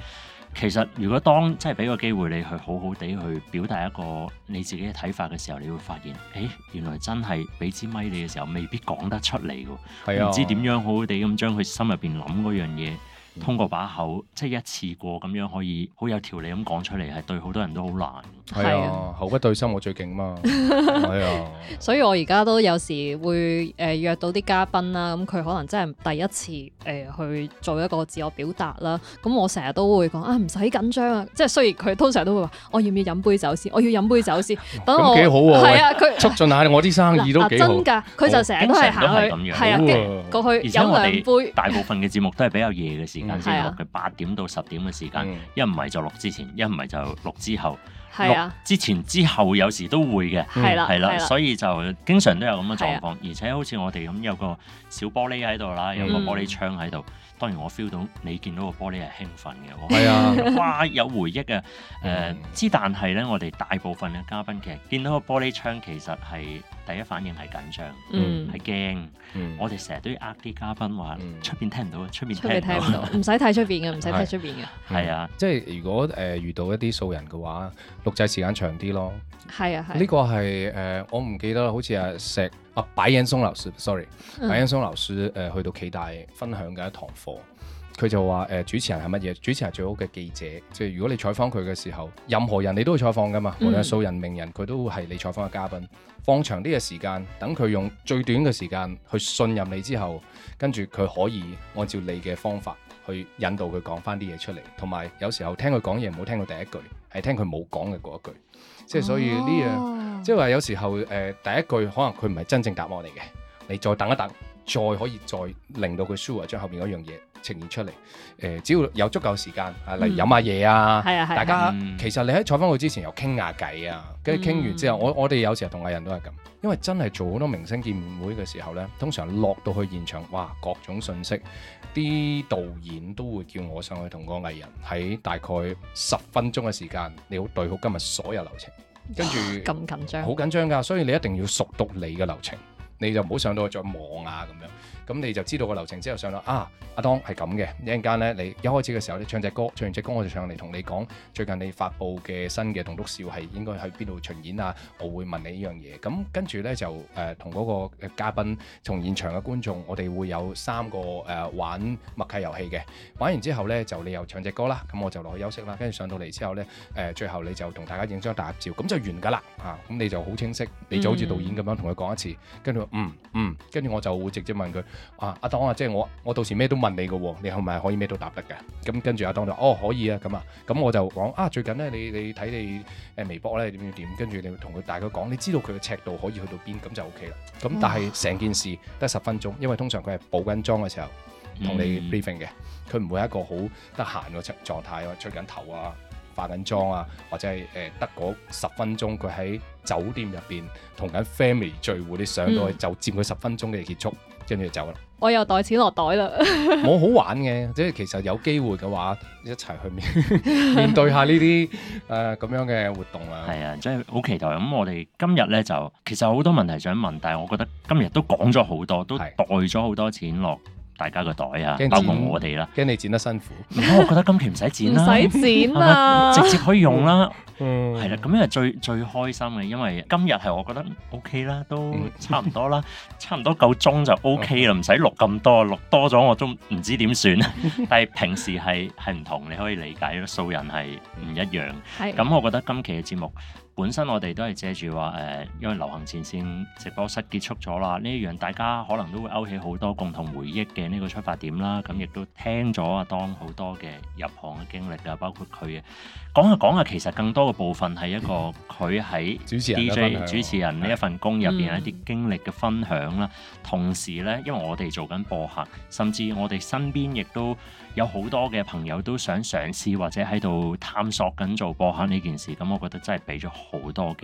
其實如果當即係俾個機會你去好好地去表達一個你自己嘅睇法嘅時候，你會發現，誒原來真係俾支咪你嘅時候，未必講得出嚟㗎， 係啊， 唔知點樣好好地咁將佢心入邊諗嗰樣嘢。通過把口，即係一次過咁樣可以好有條理咁講出嚟，係對好多人都好難。 係啊，口不對心我最勁嘛。係啊， 所以我而家都有時會誒、呃、約到啲嘉賓啦，咁佢可能真係第一次誒、呃、去做一個自我表達啦。咁我成日都會講啊，唔使緊張啊，即係雖然佢通常都會話，我要唔要飲杯酒先？我要飲杯酒先。等我幾好喎， 係啊，佢促進下我啲生意都幾好。 真㗎，佢就成日都係行去，係啊，跟過去飲兩杯。 大部分嘅節目都係比較夜嘅時間先錄嘅，八點到十點嘅時間，一唔係就錄之前，一唔係就錄之後。 係啊， 之前之後有時都會嘅， 係啦， 係啦，所以就經常都有咁嘅狀況，而且好似我哋咁有個小玻璃喺度啦，有個玻璃窗喺度。當然我 feel 到你見到個玻璃係興奮嘅， 係啊， 哇有回憶啊！誒之但係咧，我哋大部分嘅嘉賓其實見到個玻璃窗，其實係第一反應係緊張，係驚。我哋成日都要呃啲嘉賓話出邊聽唔到，出邊聽唔到， 唔使睇出邊嘅，唔使睇出邊嘅。 係啊， 即係如果誒遇到一啲素人嘅話，錄製時間長啲咯。 係啊，係。 呢個係誒我唔記得啦，好似阿石啊白岩松老師 ，sorry， 白岩松老師誒去到暨大分享嘅一堂課。佢就話誒、呃、主持人係乜嘢？主持人係最好嘅記者，即係如果你採訪佢嘅時候，任何人你都會採訪噶嘛，無論係素人名人，佢都係你採訪嘅嘉賓。放長啲嘅時間，等佢用最短嘅時間去信任你之後，跟住佢可以按照你嘅方法去引導佢講翻啲嘢出嚟。同埋有，有時候聽佢講嘢唔好聽到第一句，係聽佢冇講嘅嗰一句。即係所以呢樣，哦、即係話有時候誒、呃、第一句可能佢唔係真正答案嚟嘅，你再等一等，再可以再令到佢 sure 將後邊嗰樣嘢呈現出嚟，誒、呃，只要有足夠時間，啊，例如飲下嘢啊， 嗯、 大家、 嗯、 其實你喺採訪佢之前又傾下偈啊，跟住傾完之後，嗯、我我哋有時候同藝人都係咁，因為真係做好多明星見面會嘅時候咧，通常落到去現場，哇，各種信息，啲導演都會叫我上去同個藝人喺大概十分鐘嘅時間，你好對好今日所有流程，跟住咁緊張， 好緊張㗎，所以你一定要熟讀你嘅流程，你就唔好上到去再望啊咁樣。咁你就知道個流程之後上到啊，阿當係咁嘅，一陣間咧，你一開始嘅時候你唱隻歌，唱完隻歌我就上嚟同你講最近你發布嘅新嘅棟篤笑係應該喺邊度巡演啊，我會問你呢樣嘢。咁跟住咧就誒同嗰個嘉賓同現場嘅觀眾，我哋會有三個誒、呃、玩默契遊戲嘅。玩完之後咧就你又唱隻歌啦，咁我就落去休息啦。跟住上到嚟之後咧誒、呃、最後你就同大家影張大合照，咁就完㗎啦嚇。咁、啊、你就好清晰，你就好似導演咁樣同佢講一次，跟住嗯嗯，跟住我就會直接問佢。啊，阿當啊，即係我，我到時咩都問你嘅喎，你係咪可以咩都答得嘅？咁跟住阿當就，哦，可以啊，咁啊，咁我就講啊，最近咧，你你睇你誒微博咧點點點，跟住你同佢大概講，你知道佢嘅尺度可以去到邊，咁就 O K 啦。咁但係成件事得十分鐘，因為通常佢係補緊妝嘅時候同你 briefing 嘅，佢唔會係一個好得閒嘅狀態啊，吹緊頭啊。化緊妝啊，或者係誒得嗰十分鐘，佢喺酒店入邊同緊 family 聚會，你上到去就佔佢十分鐘嘅結束，跟住就走啦。 我又袋錢落袋啦， 冇好玩嘅，即係其實有機會嘅話，一齊去面面對下呢啲誒咁樣嘅活動啊。 係啊，即係好期待。咁我哋今日咧就其實好多問題想問，但係我覺得今日都講咗好多，都袋咗好多錢落大家個袋啊，包括我哋啦， 驚你剪得辛苦。 我覺得今期唔使剪啦， 唔使剪啦， 直接可以用啦。 嗯， 係啦，咁樣係最最開心嘅，因為今日係我覺得 O K 啦，都差唔多啦，差唔多夠鐘就 O K 啦，唔使錄咁多，錄多咗我都唔知點算。但係平時係係唔同，你可以理解，素人係唔一樣。係，咁我覺得今期嘅節目。本身我哋都係借住話誒，因為流行前線直播室結束咗啦，呢一樣大家可能都會勾起好多共同回憶嘅呢個出發點啦。咁亦都聽咗阿當好多嘅入行嘅經歷啊，包括佢嘅講下講下，其實更多嘅部分係一個佢喺 D J 主持人呢一份工入邊一啲經歷嘅分享啦。嗯、同時咧，因為我哋做緊播客，甚至我哋身邊亦都有好多嘅朋友都想嘗試或者喺度探索緊做播客呢件事。咁我覺得真係俾咗好多嘅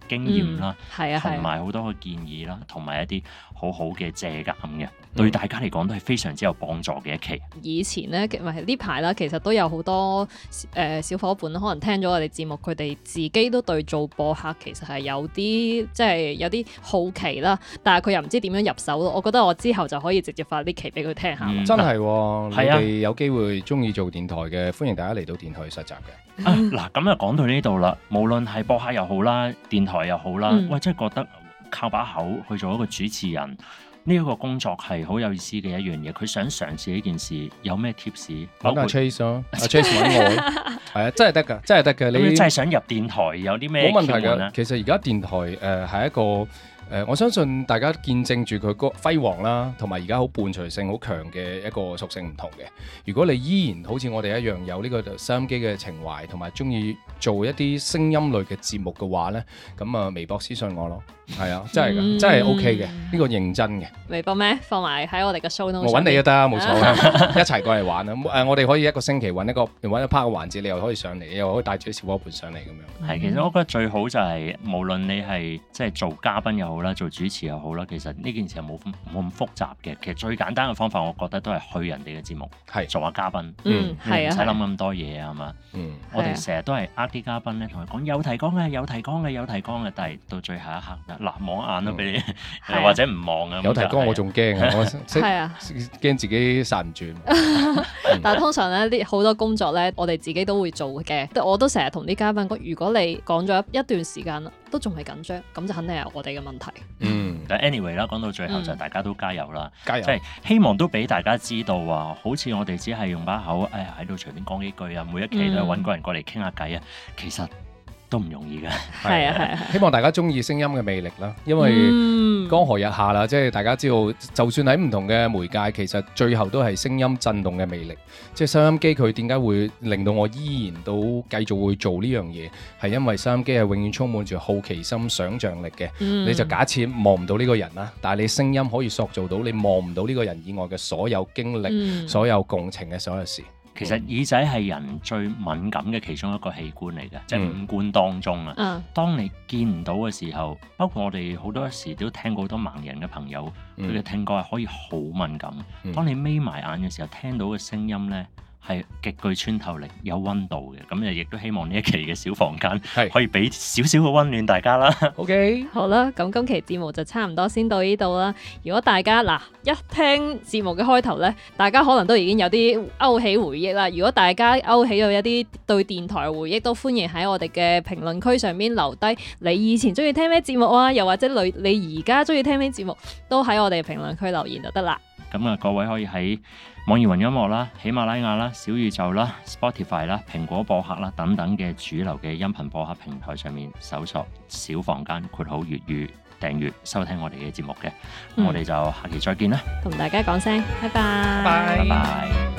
經驗啦， 係啊係同埋好多嘅建議啦，同埋一啲好好嘅借鑑嘅，對大家嚟講都係非常之有幫助嘅一期。 以前咧，唔係呢排啦，其實都有好多誒、呃、小伙伴可能聽咗我哋節目，佢哋自己都對做播客其實係有啲即係有啲好奇啦，但係佢又唔知點樣入手咯。我覺得我之後就可以直接發啲期俾佢聽下。 嗯真係、哦， 係啊你哋有機會中意做電台嘅，歡迎大家嚟到電台去實習嘅。 啊嗱，咁就講到呢度啦。無論係播客又好啦，電台又好啦， 嗯喂，真係覺得靠把口去做一個主持人呢一個工作係好有意思嘅一樣嘢。佢想嘗試呢件事，有咩 tips？ 揾阿 Chase 咯，阿 Chase 揾我，係啊，真係得㗎，真係得㗎。 你真係想入電台，有啲咩冇問題竅門咧㗎。？其實而家電台誒係、呃、一個。誒、呃，我相信大家見證住佢個輝煌啦，同埋而家好伴隨性好強嘅一個屬性唔同嘅。如果你依然好似我哋一樣有呢個收音機嘅情懷，同埋中意做一啲聲音類嘅節目嘅話呢，咁啊微博私信我咯，係啊，真係㗎， 嗯真係 OK 嘅，呢、個認真嘅。 微博咩？放埋喺我哋嘅 show note 我揾你都得，冇所謂，一齊過嚟玩啊！誒，我哋可以一個星期揾一個揾一 part 嘅環節，你又可以上嚟，你又可以帶住啲小伙伴上嚟咁樣。 係，其實我覺得最好就係、無論你係即係做嘉賓又好啦，做主持又好啦，其實呢件事係冇冇咁複雜嘅。其實最簡單嘅方法，我覺得都係去人哋嘅節目， 係做下嘉賓， 嗯，係啊， 唔使諗係啊咁多嘢啊嘛。 嗯， 我哋成日都係呃啲嘉賓咧，同佢講有提綱嘅，有提綱嘅，有提綱嘅，但係到最後一刻，嗱望眼都俾你， 係啊或者唔望啊。 有提綱我仲驚啊，我識係啊。 驚自己殺唔住。 但係通常咧，啲好多工作咧，我哋自己都會做嘅。我都成日同啲嘉賓講，如果你講咗一段時間啦，都仲係緊張，咁就肯定係我哋嘅問題。 嗯， 但 anyway 啦，講到最後就嗯大家都加油啦， 加油即！係希望都俾大家知道話，好似我哋只係用把口，誒喺度隨便講幾句啊，每一期都係揾個人過嚟傾下偈啊，其實都唔容易嘅。 係啊係啊係。 希望大家中意聲音嘅魅力啦，因為嗯江河日下啦，即係大家知道，就算喺唔同嘅媒介，其實最後都係聲音震動嘅魅力。即係收音機佢點解會令到我依然都繼續會做呢樣嘢？係因為收音機係永遠充滿住好奇心、想像力嘅。 嗯你就假設望唔到呢個人啦，但係你聲音可以塑造到你望唔到呢個人以外嘅所有經歷、 嗯所有共情嘅所有事。 其實耳仔係人最敏感嘅其中一個器官嚟嘅，即係嗯五官當中啊。 嗯當你見唔到嘅時候，包括我哋好多時都聽過好多盲人嘅朋友，佢嘅、 嗯聽覺係可以好敏感。 嗯當你眯埋眼嘅時候，聽到嘅聲音呢係極具穿透力、有溫度嘅。咁就亦都希望呢一期嘅小房間係可以俾少少嘅溫暖大家啦。 OK， 好啦，咁今期節目就差唔多先到呢度啦。如果大家嗱一聽節目嘅開頭呢，大家可能都已經有啲勾起回憶啦。如果大家勾起咗一啲對電台嘅回憶，都歡迎喺我哋嘅評論區上面留低你以前中意聽咩節目啊，又或者你你而家中意聽咩節目，都喺我哋評論區留言就得啦。 咁啊，各位可以喺網易雲音樂啦、喜馬拉雅啦、小宇宙啦、Spotify 啦、蘋果播客啦等等嘅主流嘅音頻播客平台上面搜索小房間括號粵語訂閱收聽我哋嘅節目嘅。咁嗯我哋就下期再見啦， 同大家講聲，拜拜。 拜拜拜。